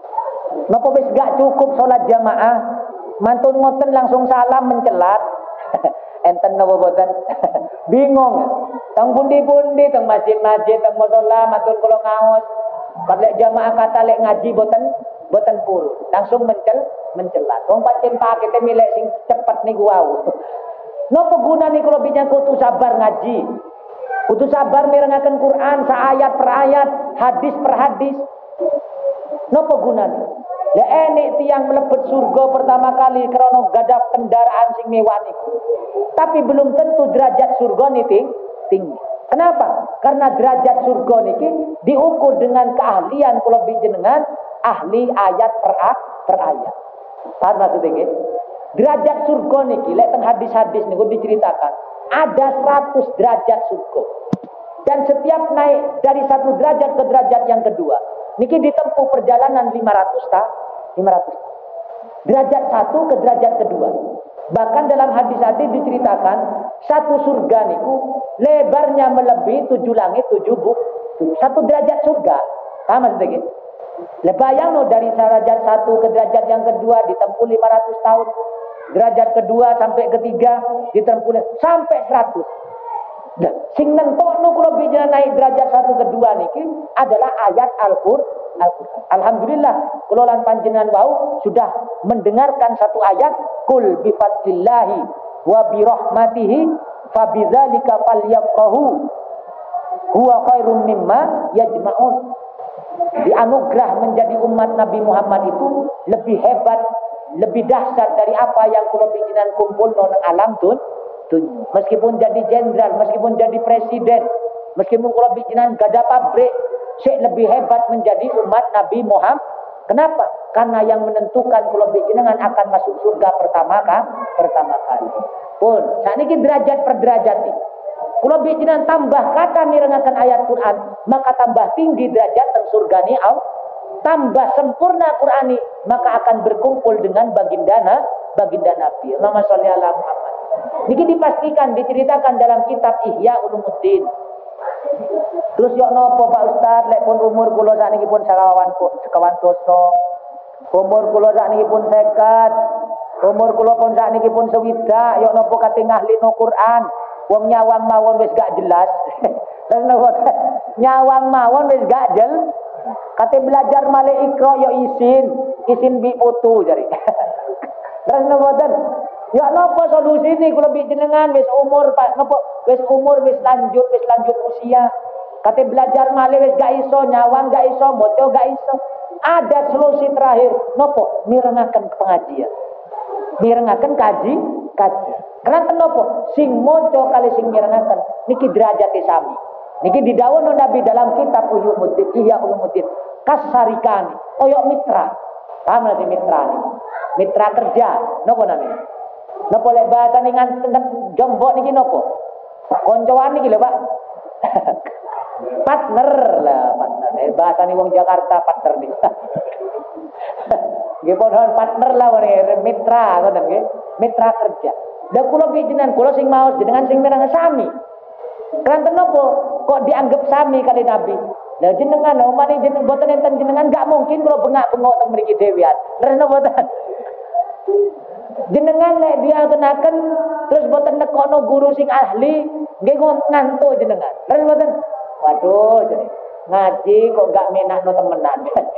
Nopo wis gak cukup salat jamaah? Mantun ngoten langsung salam mencelat. Enten napa boten? Bingung. Teng pundi-pundi teng masjid-masjid teng musala mantun kula ngaos. Kalek jamaah kata lek ngaji boten purun. Langsung mencelat. Wong pancen pakete milih sing cepet niku wau. Napa gunane kula bincang kudu sabar ngaji? Kudu sabar mirengaken Quran saayat per ayat, hadis per hadis. Napa gunane? Lah enek tiyang mlebet surga pertama kali krana gadah kendaraan sing mewah niku. Tapi belum tentu derajat surga niki tinggi. Kenapa? Karena derajat surga niki diukur dengan keahlian kula panjenengan ahli ayat per ayat. Paham maksudnya nggih? Derajat surga niki lek teng hadis-hadis niku diceritakan ada 100 derajat surga. Dan setiap naik dari satu derajat ke derajat yang kedua, niki ditempuh perjalanan 500 tahun. Derajat satu ke derajat kedua. Bahkan dalam hadis-hadis diceritakan satu surga niku lebarnya melebihi 7 langit 7 buk. Satu derajat surga. Paham maksudnya? Bayang no dari derajat satu ke derajat yang kedua ditempuh 500 tahun. Derajat kedua sampai ketiga ditempuh sampai 100. Nah, sing nentokno kula bijana naik derajat satu kedua niki adalah ayat Al-Qur'an. Alhamdulillah kula lan panjenengan wau sudah mendengarkan satu ayat kul bi fadlillahi wa bi rahmatihi fabidzalika falyafrahu huwa khairum mimma yajma'un. Dianugerah menjadi umat Nabi Muhammad itu lebih hebat, lebih dahsyat dari apa yang kula panjenengan kumpulno nang alam dunya. Meskipun jadi jenderal, meskipun jadi presiden, meskipun kula panjenengan gadah pabrik, sik lebih hebat menjadi umat Nabi Muhammad. Kenapa? Karena yang menentukan kula panjenengan akan masuk surga pertama kali. Pun sakniki derajat per derajat iki. Kula panjenengan tambah kata mirengaken ayat Quran, maka tambah tinggi derajat teng surgane Allah. Tambah sempurna Qur'ani, maka akan berkumpul dengan baginda Nabi. Allahumma sholli ala Muhammad. Niki dipastikan diceritakan dalam kitab Ihya Ulumuddin. Terus yo nopo Pak Ustaz, lek pun umur kula sakniki pun sekawan dosa. Umur kula sakniki pun 50. Umur kula pun sakniki pun 60. Yo nopo kate ngahlino Quran. Wong nyawang mawon wis gak jelas. Terus nopo nyawang mawon wis gak jelas. Kate belajar malih ikra yo isin bi putu jare. Terus nopo ten? Ya napa solusi ini kula bi jenengan wis umur Pak napa wis umur wis lanjut usia. Kate belajar malih wis gak iso nyawang gak iso maca gak iso. Ada solusi terakhir napa mirengaken pengajian. Mirengaken kaji. Kenapa napa sing maca kali sing mirengaken niki derajate sami. Niki didhawuhna Nabi dalam kitab Ihya Ulumuddin kasarikani koyo mitra. Paham nanti mitra nih. Mitra kerja napa namanya? Napa lek bahasa dengan jombok niki napa? Koncoan niki lho, Pak. Partner. Bahasa nih wong Jakarta partner nih. Nggih padha partner lah mitra ngoten nggih. Mitra kerja. Lah kula jenengan kula sing maos jenengan sing mireng sami. Kanten napa kok dianggap sami kali Nabi? Lah jenengan omane jenengan boten enten jenengan gak mungkin kula bengak-bengok teng mriki dhewean. Terus napa boten? Jenengan lek dia kenaken terus boten nekono guru sing ahli nggih ngantuk jenengan. Terus boten waduh jadi ngaji kok gak menakno temenan.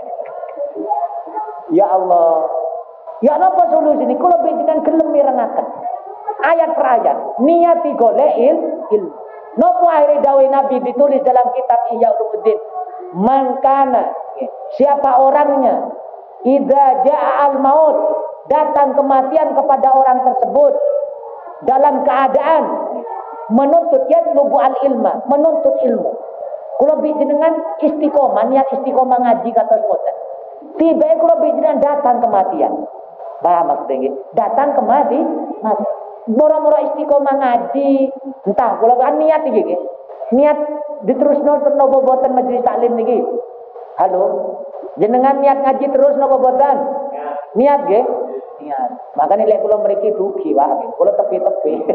Ya Allah. Ya napa solusi ini? Kula jenengan gelem mirengaken. Ayat per ayat, niati golek ilmu. Napa akhire dawuh Nabi ditulis dalam kitab Ihya Ulumuddin. Mangkana, siapa orangnya idza jaa al-maut, datang kematian kepada orang tersebut dalam keadaan menuntut yatlubu al-ilma, menuntut ilmu. Kula jenengan istiqomah, niat istiqomah ngaji kados ngoten. Tiba kula jenengan datang kematian. Paham maksudnya? Datang mati. Moro-moro istiqomah ngaji. Entah kula kan niat iki nggih. Niat diterusno napa boten majelis taklim niki. Halo. Jenengan niat ngaji terus napa boten? Niat nggih? Niat. Makane lek kula mriki dugi wae. Kula tepi-tepi.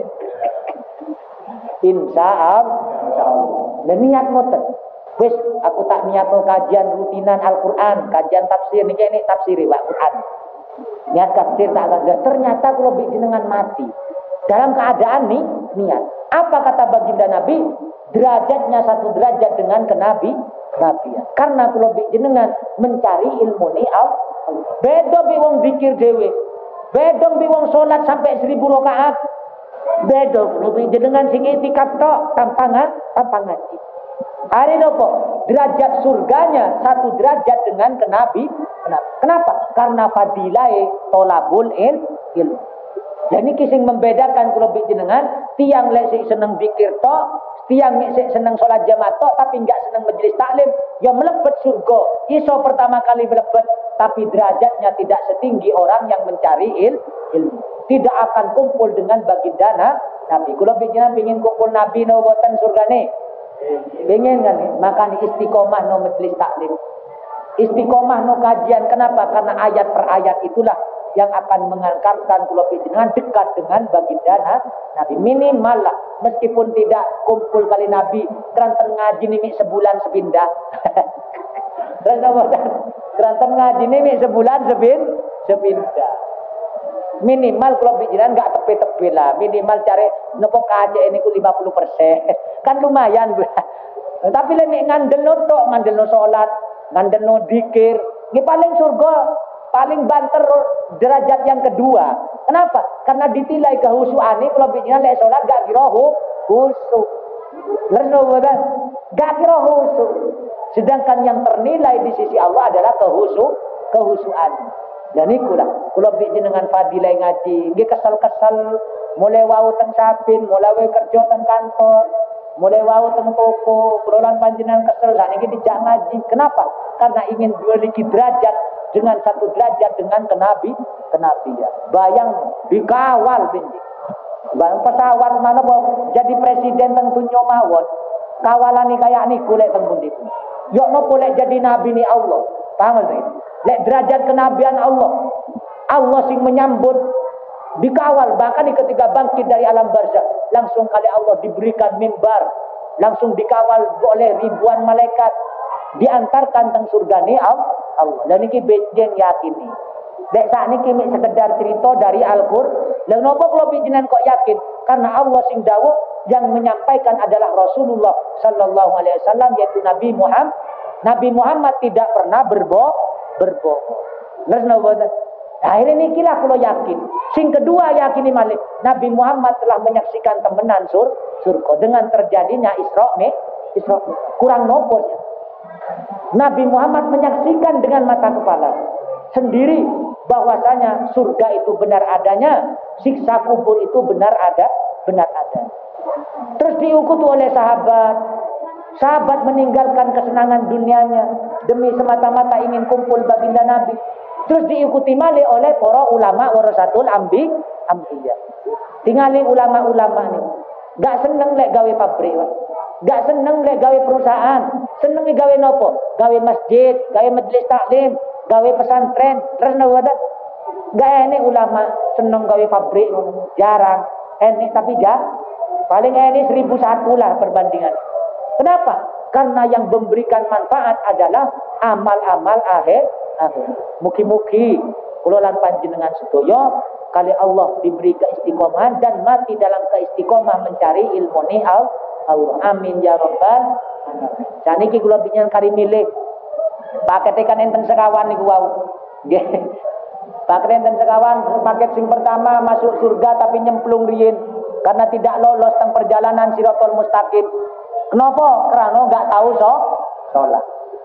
Insyaallah. Lah niat ngoten. Wis aku tak niatno kajian rutinan Al-Qur'an, kajian tafsir niki nek tafsiri Al-Qur'an. Niat tafsir tak ada. Ternyata kula jenengan mati. Dalam keadaan nih niat. Apa kata baginda Nabi? Derajatnya satu derajat dengan kenabian. Karena kula jenengan mencari ilmu ni beda bi wong zikir dhewe. Beda bi wong salat sampai 1000 rakaat. Beda kula jenengan sing itikaf tok tanpa ngaji. Hari nopo derajat surganya satu derajat dengan Kenapa? Karena fadilai tolabul ilmu. Jadi kising membedakan kula jenengan tiang lek sik seneng zikir tok, tiang sik seneng salat jamaah tok tapi enggak seneng majelis taklim, ya mlebet surga. Iso pertama kali mlebet tapi derajatnya tidak setinggi orang yang mencari ilmu. Tidak akan kumpul dengan baginda Nabi. Kula jenengan pengin kumpul Nabi no boten surgane. Pengen kan? Maka istiqomah no majelis taklim. Istiqomah no kajian. Kenapa? Karena ayat per ayat itulah yang akan mengantarkan kula jenengan dekat dengan baginda Nabi. Minimal lah, meskipun tidak kumpul kali Nabi, keranten ngaji nimi sebulan sepindah. Keranten ngaji nimi sebulan sepindah. Minimal kula jenengan enggak tepi-tepi lah. Minimal cari nopo kaje niku 50%. Kan lumayan. Tapi lek ngandelno tok, ngandelno salat, ngandelno zikir, nggih paling surga. Paling banter derajat yang kedua. Kenapa? Karena ditilai kehusuane kalau bijinan lek salat gak kira khusyuk. Lerno boten? Gak kira khusyuk. Sedangkan yang ternilai di sisi Allah adalah kehusuan. Dan iku lah kula jenengan fadilah ngaji, nggih kesel-kesel mulai wau teng sapin, mulai kerja teng kantor, mulai wau teng toko, kulolan panjenengan kesel sakniki dijak ngaji. Kenapa? Karena ingin memiliki derajat dengan satu derajat dengan kenabian. Bayang dikawal benji. Bayang pesawat mana jadi presiden teng dunya mawon. Kawalane kaya niku lek teng pundi. Yo nopo lek jadi nabi ni Allah. Paham lek derajat kenabian Allah. Allah sing menyambut Dikawal, bahkan ketika bangkit dari alam barzakh, langsung kali Allah diberikan mimbar, langsung dikawal oleh ribuan malaikat, diantarkan teng surga ni Allah. Dan niki bejeng yakini. Dek sak niki mek sekedar cerita dari Al-Qur'an. Lha napa kula panjenengan kok yakin? Karena Allah sing dawuh yang menyampaikan adalah Rasulullah sallallahu alaihi wasallam, yaitu Nabi Muhammad. Nabi Muhammad tidak pernah berbohong. Terus napa? Akhirnya niki lah kula yakin. Sing kedua yakini malih Nabi Muhammad telah menyaksikan temenan surga dengan terjadinya Isra Mi'raj. Kurang nopo ya. Nabi Muhammad menyaksikan dengan mata kepala sendiri bahwasanya surga itu benar adanya, siksa kubur itu benar ada. Terus diikuti oleh sahabat meninggalkan kesenangan dunianya demi semata-mata ingin kumpul baginda Nabi. Terus diikuti malih oleh para ulama warasatul anbiya. Tingali ulama-ulama nih, gak seneng lek gawe pabrik, gak seneng lek gawe perusahaan, seneng gawe nopo? Gawe masjid, gawe majelis taklim, gawe pesantren, terus nopo? Gak enek ulama seneng gawe pabrik, jarang. Enek tapi paling enek 1001 lah perbandingan. Kenapa? Karena yang memberikan manfaat adalah amal-amal akhir. Mugi-mugi kula lan panjenengan sedaya kali Allah diberi keistiqomahan dan mati dalam keistiqomah mencari ilmu ni Allah. Amin ya rabbal alamin. Saniki kula pinjen kari milih paket kan enten sekawan niku wau. Nggih. Paket enten sekawan, paket sing pertama masuk surga tapi nyemplung riyin karena tidak lolos teng perjalanan Shirathul Mustaqim. Kenapa? Karena enggak tahu salat.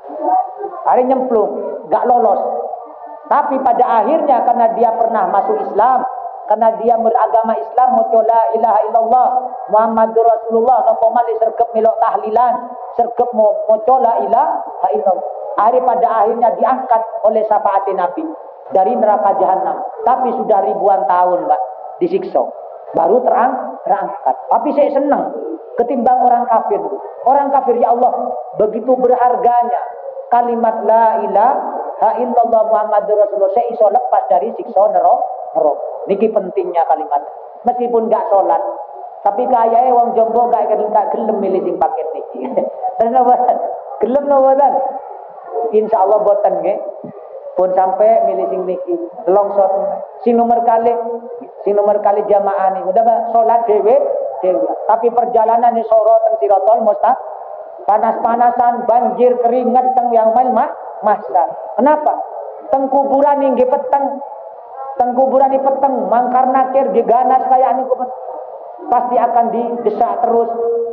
Hari nyemplung, gak lolos. Tapi pada akhirnya karena dia pernah masuk Islam, karena dia beragama Islam, maca la ilaha illallah Muhammadur Rasulullah, napa malih sergep melok tahlilan, sergep maca la ilaha illallah. Pada akhirnya diangkat oleh syafaat Nabi dari neraka jahanam. Tapi sudah ribuan tahun, Mbak, disiksa. Baru terangkat. Tapi saya senang ketimbang orang kafir. Orang kafir, ya Allah, begitu berharganya kalimat la ilaha illallah Muhammadur Rasulullah, saya iso lepas dari siksa neraka. Niki pentingnya kalimat. Meskipun gak sholat, tapi kayaknya wong jombo gak gelem milih sing paket niki. Dan gelem nobotan. Insyaallah boten nggih. Pun sampai milih sing niki. Longsor sing nomor kali jamaah niku udah sholat dhewe. Tapi perjalanan di Soro teng Shirathul Mustaqim panas-panasan, banjir, keringat teng yang mahsyar. Kenapa? Teng kuburan nggih peteng. Teng kuburan ini peteng, mangkar nakir diganas kayak niku pasti akan didesak terus.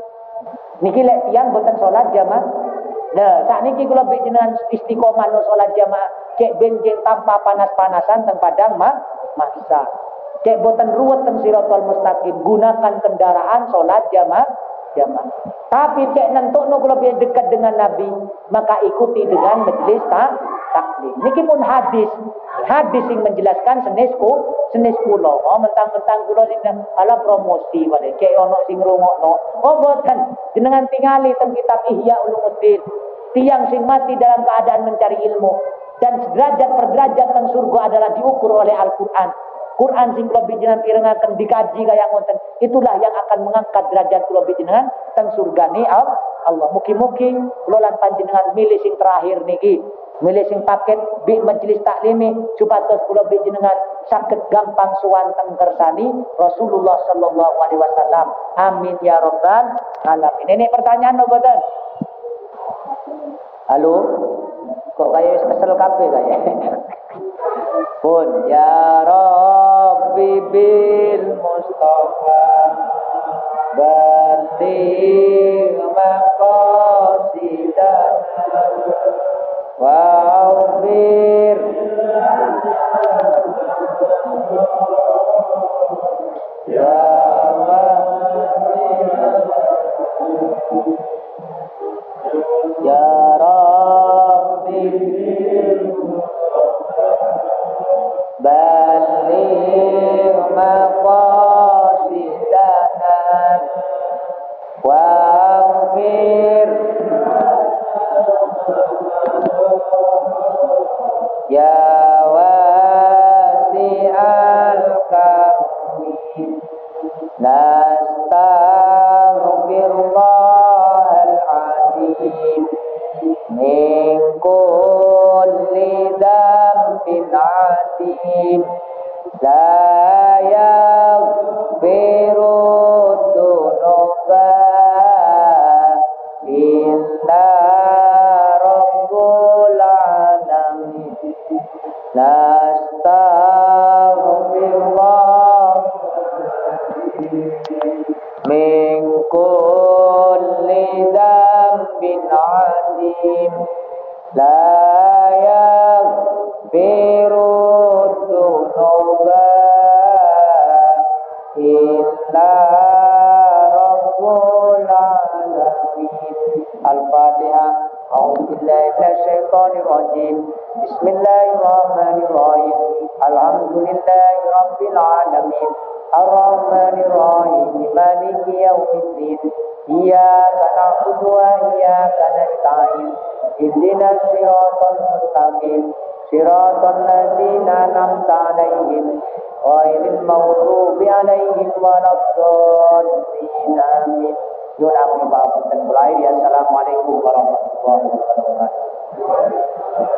Niki lek tiyang boten salat jamaah. Nah, sakniki kula jenengan istiqomah no salat jamaah, cek benjing tanpa panas-panasan teng padang mahsyar. Cek boten ruwet teng Shirathul Mustaqim, gunakan kendaraan salat jamaah. Tapi cek nentukno kula dekat dengan Nabi, maka ikuti dengan majelis taklim. Niki pun hadis yang menjelaskan senes kula. Oh mentang-mentang kula sing ala promosi wae cek ono sing ngrungokno. Oh boten, jenengan tingali teng kitab Ihya Ulumuddin. Tiang sing mati dalam keadaan mencari ilmu dan derajat per derajat teng surga adalah diukur oleh Al-Qur'an. Quran sing kula panjenengan pirengaken dikaji kaya ngoten, itulah yang akan mengangkat derajat kula panjenengan teng surgane Allah. Mugi-mugi kula lan panjenengan milih sing terakhir niki, milih sing paket bi majelis taklimi supados kula panjenengan saged gampang suwanteng kersani Rasulullah sallallahu alaihi wasallam. Amin ya rabbal alamin. Ini pertanyaan apa mboten? Halo? Kok kaya wis kesel kabeh kaya. Pun ya Rabbi bil Mustafa baligh maqasidana wa'fir ya ya Rabbi baligh maqasidana wa'fir ya wasi'al karam min kulli dzambin adim la yaghfiru dzunuba illa rabbul alamin nastaghfirullah min kulli dzambin adim la yaghfiru dzunuba illa rabbul alamin. Al-Fatihah. A'udzu billahi minasyaitonir rajim. Bismillahirrahmanirrahim. Alhamdulillahi rabbil alamin. Ar-Rahmanir Rahim. Maliki yaumiddin. Iyyaka na'budu wa iyyaka nasta'in. Ihdinas siratal mustaqim. Siratal ladzina an'amta 'alaihim ghairil maghdubi 'alaihim waladdallin. Amin. Yun aku ibadah dan mulai. Assalamualaikum warahmatullahi wabarakatuh.